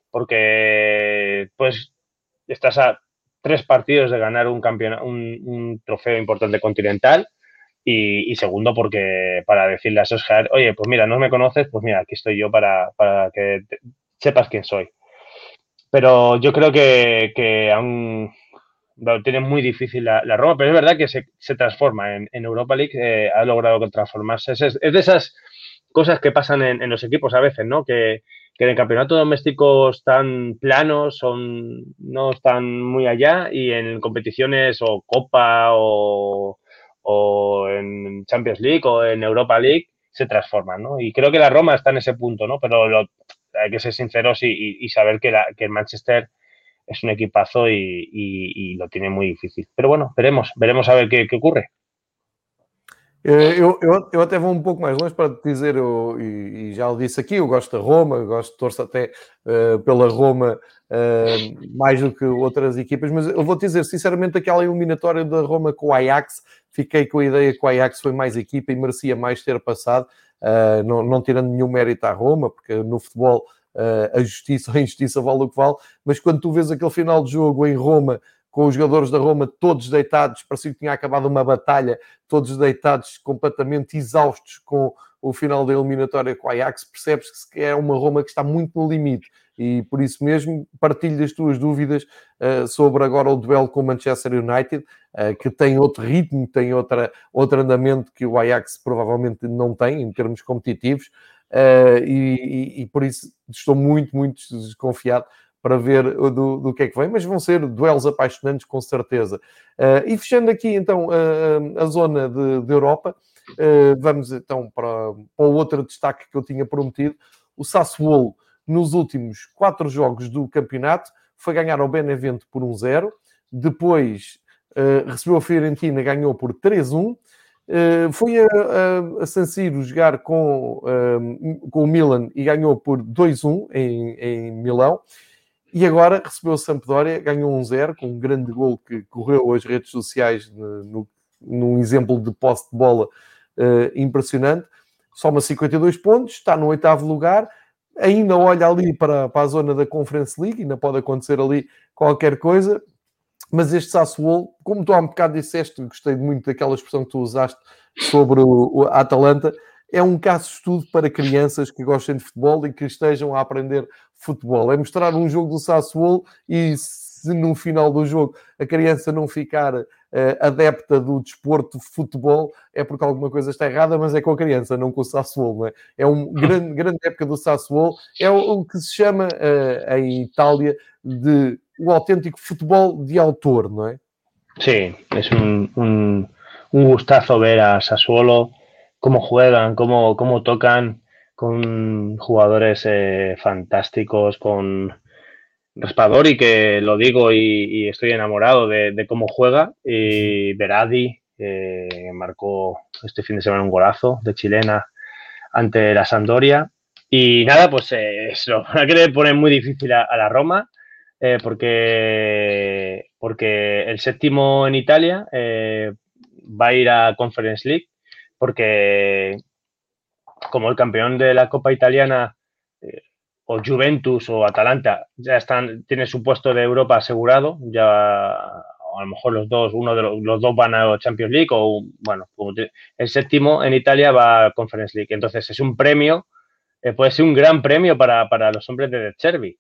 [SPEAKER 3] porque pues estás a tres partidos de ganar un campeonato, un, un trofeo importante continental. Y, y segundo, porque para decirle a Solskjaer, oye, pues mira, no me conoces, pues mira, aquí estoy yo para, para que te, sepas quién soy. Pero yo creo que, que aún lo tiene muy difícil la, la Roma, pero es verdad que se, se transforma en, en Europa League, eh, ha logrado transformarse. Es, es de esas cosas que pasan en, en los equipos a veces, ¿no? Que, que en el campeonato doméstico están planos, son, no están muy allá, y en competiciones o Copa o, o en Champions League o en Europa League se transforman, ¿no? Y creo que la Roma está en ese punto, ¿no? Pero lo, hay que ser sinceros y, y, y saber que, la, que el Manchester es un equipazo y, y, y lo tiene muy difícil. Pero bueno, veremos, veremos a ver qué, qué ocurre.
[SPEAKER 2] Eu, eu, eu até vou um pouco mais longe para te dizer, eu, e, e já o disse aqui, eu gosto da Roma, eu gosto, torço até uh, pela Roma uh, mais do que outras equipas, mas eu vou te dizer, sinceramente, aquela eliminatória da Roma com o Ajax, fiquei com a ideia que o Ajax foi mais equipa e merecia mais ter passado, uh, não, não tirando nenhum mérito à Roma, porque no futebol uh, a justiça ou a injustiça vale o que vale, mas quando tu vês aquele final de jogo em Roma, com os jogadores da Roma todos deitados, parecia que tinha acabado uma batalha, todos deitados, completamente exaustos com o final da eliminatória com o Ajax, percebes que é uma Roma que está muito no limite. E por isso mesmo partilho das tuas dúvidas uh, sobre agora o duelo com o Manchester United, uh, que tem outro ritmo, tem outra, outro andamento que o Ajax provavelmente não tem em termos competitivos, uh, e, e, e por isso estou muito, muito desconfiado para ver do, do que é que vem, mas vão ser duelos apaixonantes, com certeza. Uh, e fechando aqui, então, uh, a zona de, de Europa, uh, vamos, então, para, para o outro destaque que eu tinha prometido. O Sassuolo, nos últimos quatro jogos do campeonato, foi ganhar ao Benevento por um zero, depois uh, recebeu a Fiorentina, ganhou por três a um, uh, foi a, a, a San Siro jogar com, uh, com o Milan e ganhou por dois a um em, em Milão. E agora recebeu a Sampdoria, ganhou um zero, com um grande gol que correu as redes sociais no, no, num exemplo de posse de bola uh, impressionante. Soma cinquenta e dois pontos, está no oitavo lugar, ainda olha ali para, para a zona da Conference League, ainda pode acontecer ali qualquer coisa, mas este Sassuolo, como tu há um bocado disseste, gostei muito daquela expressão que tu usaste sobre o, o Atalanta, é um caso de estudo para crianças que gostem de futebol e que estejam a aprender futebol. É mostrar um jogo do Sassuolo e se no final do jogo a criança não ficar uh, adepta do desporto de futebol, é porque alguma coisa está errada, mas é com a criança, não com o Sassuolo. Não é? É uma grande, grande época do Sassuolo. É o, o que se chama uh, em Itália de o autêntico futebol de autor, ¿no es?
[SPEAKER 3] Sí, es un, un, un gustazo ver a Sassuolo, cómo juegan, cómo, cómo tocan, con jugadores eh, fantásticos, con Raspadori, que lo digo y, y estoy enamorado de, de cómo juega, y Berardi, eh, marcó este fin de semana un golazo de chilena ante la Sampdoria. Y nada, pues eh, eso, la que le pone muy difícil a, a la Roma, eh, porque, porque el séptimo en Italia eh, va a ir a Conference League, porque como el campeón de la Copa Italiana, eh, o Juventus o Atalanta, ya están, tiene su puesto de Europa asegurado, ya a lo mejor los dos, uno de los, los dos van a Champions League, o bueno, el séptimo en Italia va a Conference League. Entonces es un premio, eh, puede ser un gran premio para, para los hombres de De Zerbi.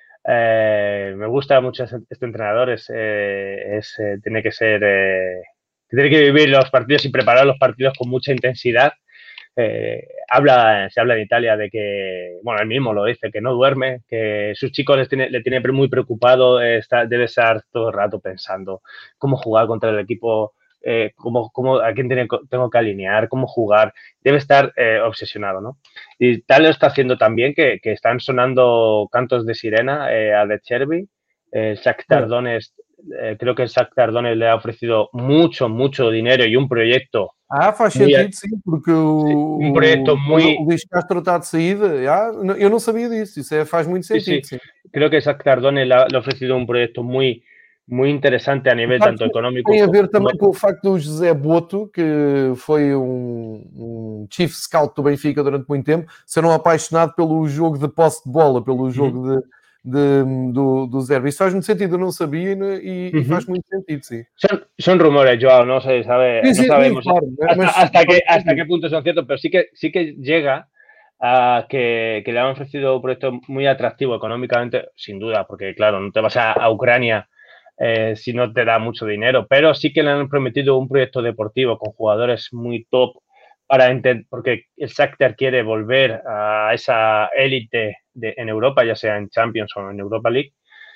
[SPEAKER 3] Eh, me gusta mucho este, este entrenador, es, eh, es eh, tiene que ser, eh, tiene que vivir los partidos y preparar los partidos con mucha intensidad. Eh, habla, se habla en Italia de que, bueno, él mismo lo dice, que no duerme, que sus chicos les tiene, le tiene muy preocupado, eh, está, debe estar todo el rato pensando cómo jugar contra el equipo, eh, cómo, cómo, a quién tiene, tengo que alinear, cómo jugar, debe estar eh, obsesionado, ¿no? Y tal lo está haciendo también que, que están sonando cantos de sirena eh, a De Zerbi, eh, Shakhtar Donetsk, eh, creo que el Shakhtar Donetsk le ha ofrecido mucho, mucho dinero y un proyecto.
[SPEAKER 2] Ah, faz sentido, a... sim, porque o,
[SPEAKER 3] um projeto muy...
[SPEAKER 2] o Luís Castro está de saída. Ah, eu não sabia disso, isso é, faz muito sentido.
[SPEAKER 3] Sí, sí. Sim. Creo que Shakhtar Donetsk le ha, le ha ofrecido un proyecto muy, muy interesante a nivel tanto económico.
[SPEAKER 2] Tem a ver também com o facto do José Boto, que foi um, um chief scout do Benfica durante muito tempo, ser um apaixonado pelo jogo de posse de bola, pelo jogo uhum. de... De, do, do Zerbi. Isso faz muito sentido, eu não sabia e, e uh-huh. faz muito sentido, sim.
[SPEAKER 3] Son, son rumores, Joao, no se sabe, sí, sí, no sabemos sí, claro, hasta, mas, hasta, que, hasta qué punto son ciertos, pero sí que, sí que llega a que, que le han ofrecido un proyecto muy atractivo económicamente, sin duda, porque claro, no te vas a, a Ucrania eh, si no te da mucho dinero, pero sí que le han prometido un proyecto deportivo con jugadores muy top, para entender, porque el Shakhtar quiere volver a esa élite de, en Europa, ya sea en Champions o en Europa League.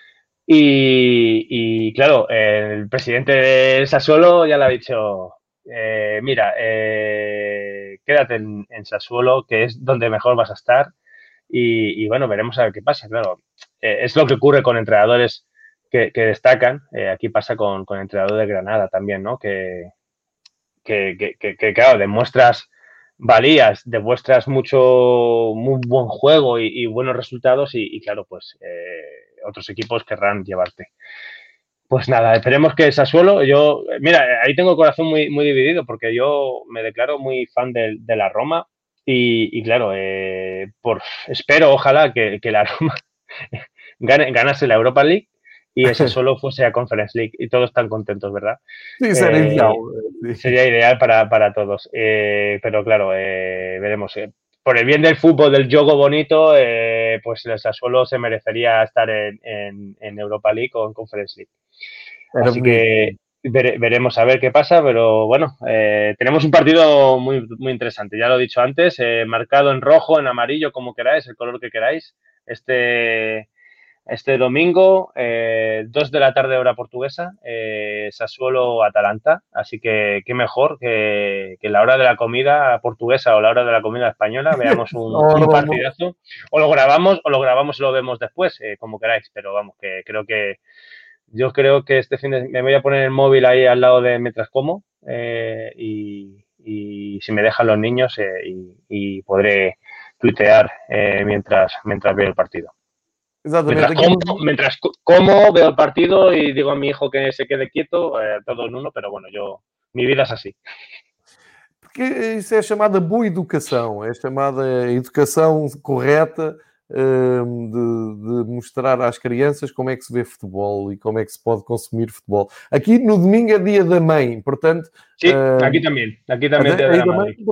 [SPEAKER 3] Y, y claro, el presidente de Sassuolo ya le ha dicho, eh, mira, eh, quédate en, en Sassuolo, que es donde mejor vas a estar. Y, y bueno, veremos a ver qué pasa. Claro, eh, es lo que ocurre con entrenadores que, que destacan. Eh, aquí pasa con, con el entrenador de Granada también, ¿no? Que, Que, que, que, que, claro, demuestras valías, demuestras mucho, muy buen juego y, y buenos resultados y, y claro, pues eh, otros equipos querrán llevarte. Pues nada, esperemos que Sassuolo, yo, mira, ahí tengo el corazón muy, muy dividido porque yo me declaro muy fan de, de la Roma y, y claro, eh, por, espero, ojalá que, que la Roma gane, ganase la Europa League y ese solo fuese a Conference League y todos están contentos, ¿verdad?
[SPEAKER 2] Sí, sería eh, ideal.
[SPEAKER 3] Sí. Sería ideal para, para todos. Eh, pero claro, eh, veremos. Eh, por el bien del fútbol, del juego bonito, eh, pues el Sassuolo se merecería estar en, en, en Europa League o en Conference League. Pero Así que vere, veremos a ver qué pasa, pero bueno, eh, tenemos un partido muy, muy interesante. Ya lo he dicho antes, eh, marcado en rojo, en amarillo, como queráis, el color que queráis. Este... Este domingo, eh, dos de la tarde hora portuguesa, eh, Sassuolo-Atalanta. Así que qué mejor que, que la hora de la comida portuguesa o la hora de la comida española veamos un, un partidazo. O lo grabamos o lo grabamos y lo vemos después, eh, como queráis. Pero vamos, que creo que yo creo que este fin de me voy a poner el móvil ahí al lado de mientras como eh, y, y si me dejan los niños eh, y, y podré tuitear eh, mientras, mientras veo el partido. Mientras como, mientras como, veo el partido y digo a mi hijo que se quede quieto, eh, todo en uno, pero bueno, yo, mi vida es así.
[SPEAKER 2] Porque isso é chamada boa educação, é chamada educação correta um, de, de mostrar às crianças como é que se vê futebol e como é que se pode consumir futebol. Aqui no domingo é dia da mãe, portanto...
[SPEAKER 3] Sí, um, aqui também. Aqui também é dia da mãe.
[SPEAKER 2] Pronto.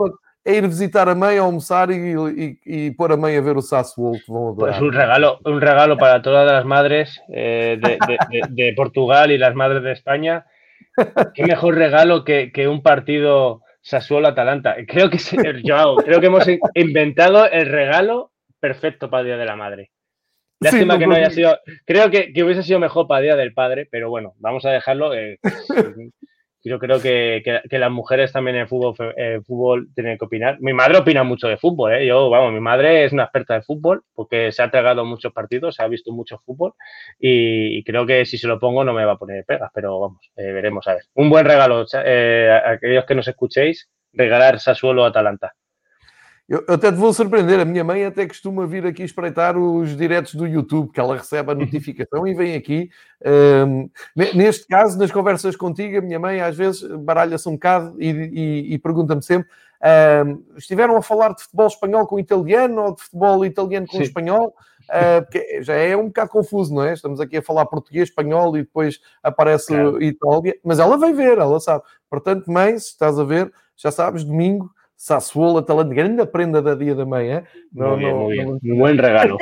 [SPEAKER 2] é ir visitar a mãe, almoçar e, e, e pôr a mãe a ver o Sassuolo, que vão adorar.
[SPEAKER 3] Pues un regalo, un regalo para todas las madres eh, de, de, de, de Portugal y las madres de España. Qué mejor regalo que, que un partido Sassuolo-Atalanta. Creo que, se, Joao, creo que hemos inventado el regalo perfecto para el Día de la Madre. Lástima
[SPEAKER 2] sí,
[SPEAKER 3] que no haya sido... Creo que, que hubiese sido mejor para el Día del Padre, pero bueno, vamos a dejarlo. Eh, yo creo que, que, que las mujeres también en el fútbol, eh, fútbol tienen que opinar. Mi madre opina mucho de fútbol, ¿eh? Yo, vamos, mi madre es una experta de fútbol porque se ha tragado muchos partidos, ha visto mucho fútbol y, y creo que si se lo pongo no me va a poner pegas, pero vamos, eh, veremos a ver. Un buen regalo, eh, a aquellos que nos escuchéis, regalar Sassuolo-Atalanta.
[SPEAKER 2] Eu, eu até te vou surpreender, a minha mãe até costuma vir aqui espreitar os diretos do YouTube, que ela recebe a notificação e vem aqui. Um, neste caso, nas conversas contigo, a minha mãe às vezes baralha-se um bocado e, e, e pergunta-me sempre um, estiveram a falar de futebol espanhol com italiano ou de futebol italiano com Sim. espanhol? Uh, porque já é um bocado confuso, não é? Estamos aqui a falar português, espanhol e depois aparece claro. Itália, mas ela vai ver, ela sabe. Portanto, mãe, se estás a ver, já sabes, domingo, Sassuolo, Atalanta, grande prenda da Dia da Mãe, é?
[SPEAKER 3] Não, muy não, bien, muy bien. Um bom regalo.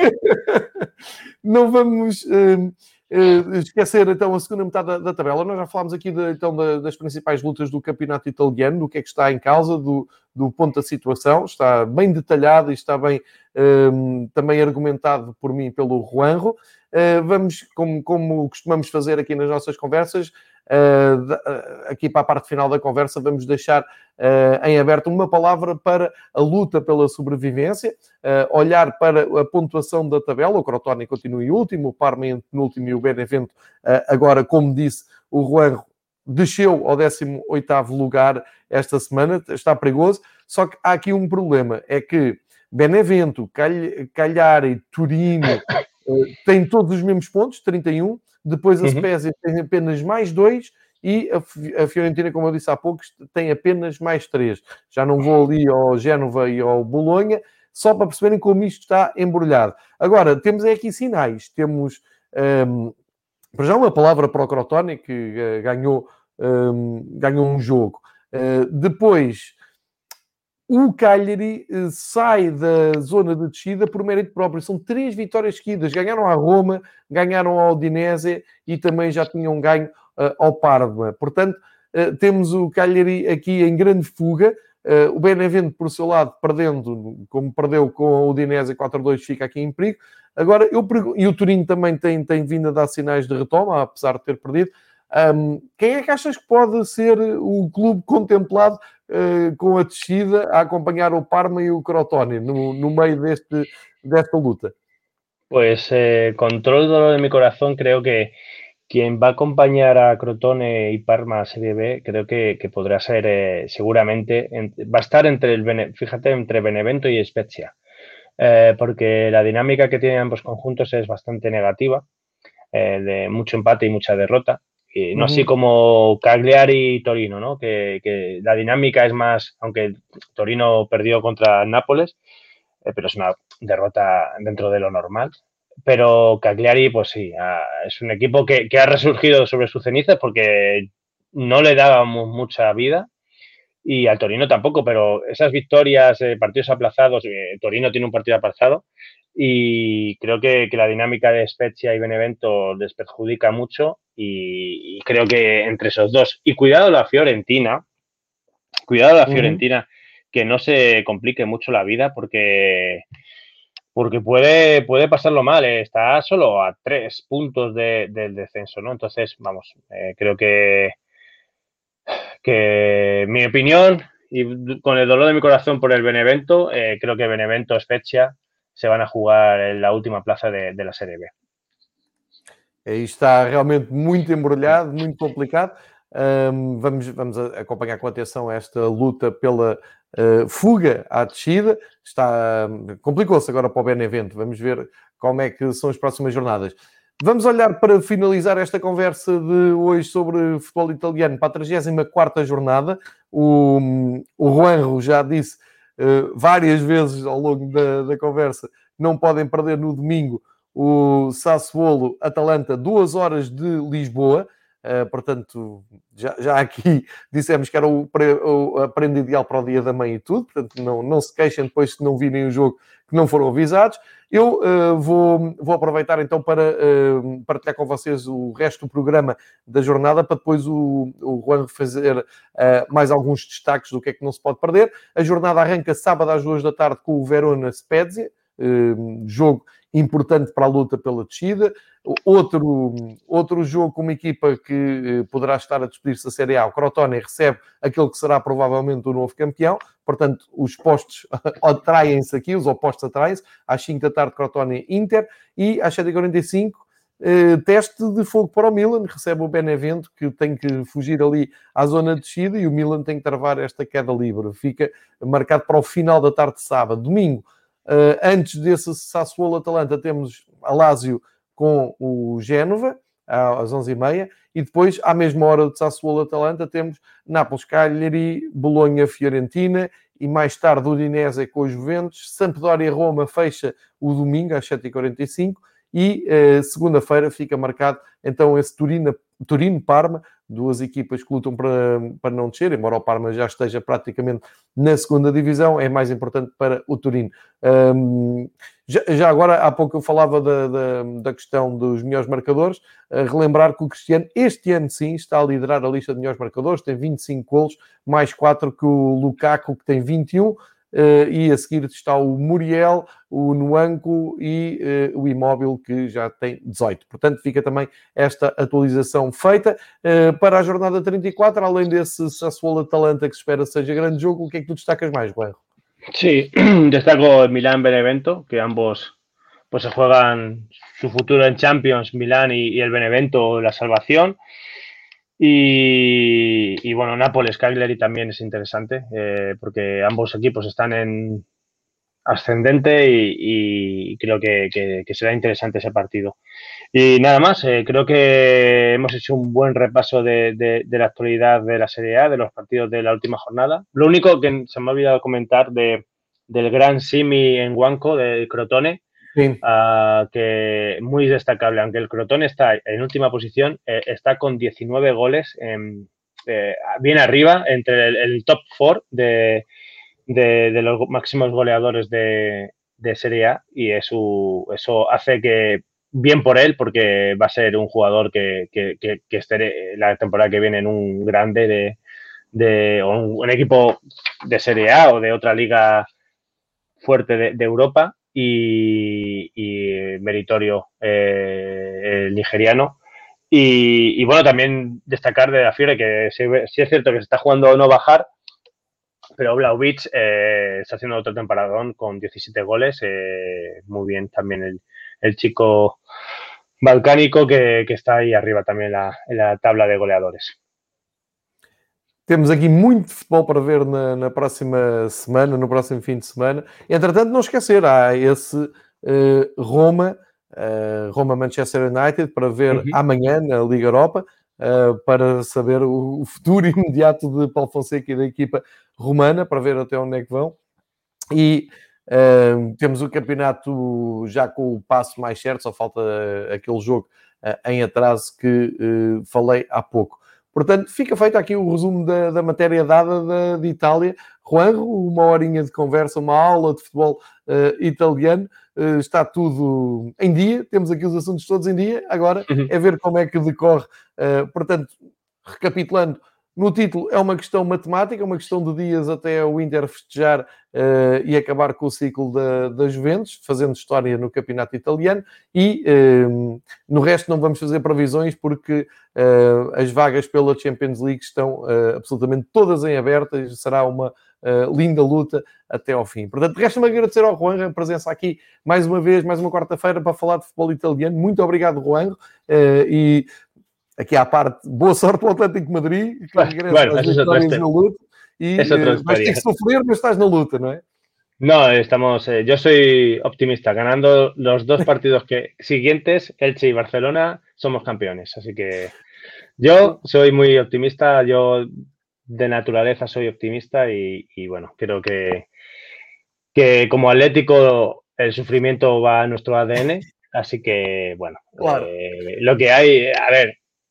[SPEAKER 2] Não vamos uh, uh, esquecer, então, a segunda metade da, da tabela. Nós já falámos aqui, de, então, da, das principais lutas do campeonato italiano, do que é que está em causa, do, do ponto da situação. Está bem detalhado e está bem uh, também argumentado por mim pelo Juanjo. Uh, vamos, como, como costumamos fazer aqui nas nossas conversas, Uh, uh, aqui para a parte final da conversa vamos deixar uh, em aberto uma palavra para a luta pela sobrevivência, uh, olhar para a pontuação da tabela. O Crotone continua em último, o Parma em penúltimo e o Benevento uh, agora, como disse o Juan, desceu ao décimo oitavo lugar esta semana, está perigoso, só que há aqui um problema, é que Benevento, Calh- Cagliari, Torino uh, têm todos os mesmos pontos, trinta e um. Depois a Spezia uhum. tem apenas mais dois e a Fiorentina, como eu disse há pouco, tem apenas mais três. Já não vou ali ao Génova e ao Bolonha, só para perceberem como isto está embrulhado. Agora, temos aqui sinais. Temos, um, para já, uma palavra para o Crotone, que uh, ganhou, um, ganhou um jogo. Uh, depois... O Cagliari sai da zona de descida por mérito próprio. São três vitórias seguidas. Ganharam à Roma, ganharam ao Udinese e também já tinham ganho uh, ao Parma. Portanto, uh, temos o Cagliari aqui em grande fuga. Uh, o Benevento, por seu lado, perdendo, como perdeu com o Udinese quatro a dois, fica aqui em perigo. Agora, eu pergunto, e o Torino também tem, tem vindo a dar sinais de retoma, apesar de ter perdido. Um, quem é que achas que pode ser o clube contemplado uh, com a descida a acompanhar o Parma e o Crotone no, no meio deste, desta luta?
[SPEAKER 3] Pues eh, con todo el dolor de mi corazón creo que quien va a acompañar a Crotone y Parma a Serie B creo que, que podrá ser eh, seguramente, en, va a estar entre el Bene, fíjate, entre Benevento y Spezia, eh, porque la dinámica que tienen ambos conjuntos es bastante negativa, eh, de mucho empate y mucha derrota. Y no uh-huh. así como Cagliari y Torino, ¿no? Que, que la dinámica es más, aunque Torino perdió contra Nápoles, eh, pero es una derrota dentro de lo normal. Pero Cagliari, pues sí, ah, es un equipo que, que ha resurgido sobre sus cenizas porque no le dábamos mucha vida y al Torino tampoco, pero esas victorias, eh, partidos aplazados, eh, Torino tiene un partido aplazado y creo que, que la dinámica de Spezia y Benevento les perjudica mucho y, y creo que entre esos dos, y cuidado la Fiorentina, cuidado la Fiorentina, uh-huh. que no se complique mucho la vida porque, porque puede, puede pasarlo mal, eh. Está solo a tres puntos de, del descenso, ¿no? Entonces, vamos, eh, creo que que mi opinión y con el dolor de mi corazón por el Benevento, eh, creo que Benevento Spezia se van a jugar en la última plaza de, de la Serie B.
[SPEAKER 2] Aí está realmente muito embrulhado, muito complicado. Um, vamos, vamos acompanhar com atenção esta luta pela uh, fuga à descida. Está, um, complicou-se agora para o Benevento. Vamos ver como é que são as próximas jornadas. Vamos olhar para finalizar esta conversa de hoje sobre futebol italiano para a trigésima quarta jornada. O, o Juanjo já disse uh, várias vezes ao longo da, da conversa, não podem perder no domingo o Sassuolo Atalanta, duas horas de Lisboa. uh, portanto, já, já aqui dissemos que era o, o, a prenda ideal para o Dia da Mãe e tudo, portanto, não, não se queixem depois se não virem o jogo que não foram avisados. Eu uh, vou, vou aproveitar então para uh, partilhar com vocês o resto do programa da jornada, para depois o, o Juan fazer uh, mais alguns destaques do que é que não se pode perder. A jornada arranca sábado às duas da tarde com o Verona Spezia, uh, jogo importante para a luta pela descida. Outro, outro jogo com uma equipa que uh, poderá estar a despedir-se da Série A, o Crotone, recebe aquele que será provavelmente o novo campeão. Portanto, os postos atraem-se aqui, os opostos atraem-se. Às cinco da tarde, Crotone Inter. E às sete e quarenta e cinco, eh, teste de fogo para o Milan. Recebe o Benevento, que tem que fugir ali à zona de descida. E o Milan tem que travar esta queda livre. Fica marcado para o final da tarde de sábado. Domingo, eh, antes desse Sassuolo-Atalanta, temos a Lazio com o Génova, às onze e meia. E depois, à mesma hora de Sassuolo-Atalanta, temos Nápoles-Cagliari, Bolonha-Fiorentina e mais tarde o Udinese com os Juventus. Sampdoria-Roma fecha o domingo às sete e quarenta e cinco e eh, segunda-feira fica marcado então esse Turino, Turino-Parma, duas equipas que lutam para, para não descer, embora o Parma já esteja praticamente na segunda divisão, é mais importante para o Turino. Um, já, já agora, há pouco eu falava da, da, da questão dos melhores marcadores, uh, relembrar que o Cristiano, este ano sim, está a liderar a lista de melhores marcadores, tem vinte e cinco golos, mais quatro que o Lukaku, que tem vinte e um, Uh, e a seguir está o Muriel, o Nwanko e uh, o Immobile, que já tem dezoito. Portanto, fica também esta atualização feita. Uh, para a jornada trinta e quatro, além desse Sassuolo-Atalanta que se espera seja grande jogo, o que é que tu destacas mais, Guerro?
[SPEAKER 3] Sí, destaco Milán-Benevento, que ambos pues se juegan su futuro en Champions, Milán y, y el Benevento, la salvación. Y, y bueno, Nápoles-Cagliari también es interesante, eh, porque ambos equipos están en ascendente y, y creo que, que, que será interesante ese partido. Y nada más, eh, creo que hemos hecho un buen repaso de, de, de la actualidad de la Serie A, de los partidos de la última jornada. Lo único que se me ha olvidado comentar de, del gran Simi en Huanco, del Crotone, sí. uh, que muy destacable, aunque el Crotone está en última posición, eh, está con diecinueve goles, en, eh, bien arriba, entre el, el top cuatro de, de, de los máximos goleadores de, de Serie A, y eso, eso hace que bien por él, porque va a ser un jugador que, que, que, que esté la temporada que viene en un grande de, de o un, un equipo de Serie A o de otra liga fuerte de, de Europa, y, y meritorio eh, el nigeriano. Y, y bueno, también destacar de la Fiore que sí, sí es cierto que se está jugando a no bajar, pero Vlahovic eh, está haciendo otro temporadón con diecisiete goles, eh, muy bien también el, el chico balcánico que, que está aí arriba também na, na tabla de goleadores.
[SPEAKER 2] Temos aqui muito futebol para ver na, na próxima semana, no próximo fim de semana. Entretanto, não esquecer, há esse uh, Roma, uh, Roma-Manchester United, para ver uhum. amanhã na Liga Europa, uh, para saber o, o futuro imediato de Paulo Fonseca e da equipa romana, para ver até onde é que vão. E uh, temos o campeonato já com o passo mais certo, só falta uh, aquele jogo uh, em atraso que uh, falei há pouco. Portanto, fica feito aqui o resumo da, da matéria dada da, de Itália. Juanjo, uma horinha de conversa, uma aula de futebol uh, italiano. Uh, está tudo em dia, temos aqui os assuntos todos em dia. Agora uhum. é ver como é que decorre. Uh, portanto, recapitulando, no título é uma questão matemática, uma questão de dias até o Inter festejar uh, e acabar com o ciclo da, da Juventus, fazendo história no campeonato italiano, e uh, no resto não vamos fazer previsões porque uh, as vagas pela Champions League estão uh, absolutamente todas em aberto e será uma uh, linda luta até ao fim. Portanto, resta-me agradecer ao Juanjo a presença aqui mais uma vez, mais uma quarta-feira para falar de futebol italiano. Muito obrigado, Juanjo, uh, e aqui à parte, boa sorte ao Atlético de Madrid, que regressa
[SPEAKER 3] bueno,
[SPEAKER 2] às vitórias na luta, e uh, vais ter que sofrer, mas estás na luta, ¿no es?
[SPEAKER 3] No, estamos, eh, yo soy optimista, ganando los dos partidos que, siguientes, Elche y Barcelona, somos campeones, así que yo soy muy optimista, yo de naturaleza soy optimista y, y bueno, creo que, que como Atlético el sufrimiento va a nuestro A D N, así que bueno,
[SPEAKER 2] claro.
[SPEAKER 3] eh, lo que hay, a ver,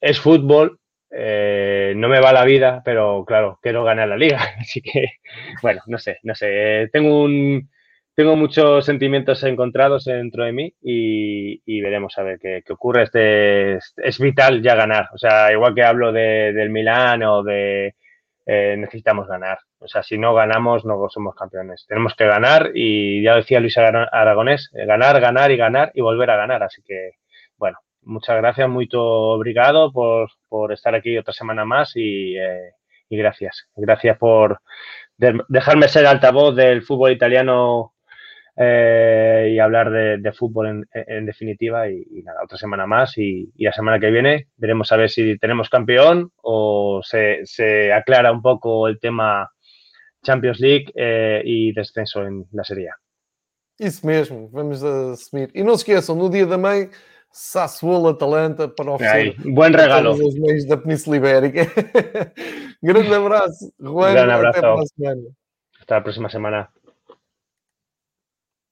[SPEAKER 3] es fútbol, eh, no me va la vida, pero claro, quiero ganar la liga. Así que, bueno, no sé, no sé. Tengo un, tengo muchos sentimientos encontrados dentro de mí y, y veremos a ver qué, qué ocurre. Este, es, es vital ya ganar. O sea, igual que hablo de, del Milán o de eh, necesitamos ganar. O sea, si no ganamos, no somos campeones. Tenemos que ganar y ya decía Luis Aragonés, ganar, ganar y ganar y volver a ganar. Así que, bueno, muchas gracias, muito obrigado por, por estar aquí otra semana más y, eh, y gracias. Gracias por de, dejarme ser altavoz del fútbol italiano eh, y hablar de, de fútbol en, en definitiva. Y, y nada, otra semana más y, y la semana que viene veremos a ver si tenemos campeón o se, se aclara un poco el tema Champions League eh, e descenso en la Serie A.
[SPEAKER 2] Isso mesmo, vamos assumir. E não se esqueçam, no dia da mãe, Sassuolo Atalanta para oferecer
[SPEAKER 3] buen regalo.
[SPEAKER 2] todos os meios da Península Ibérica. Grande abraço, Juan,
[SPEAKER 3] Gran abrazo.
[SPEAKER 2] até para a semana.
[SPEAKER 3] Hasta la próxima semana.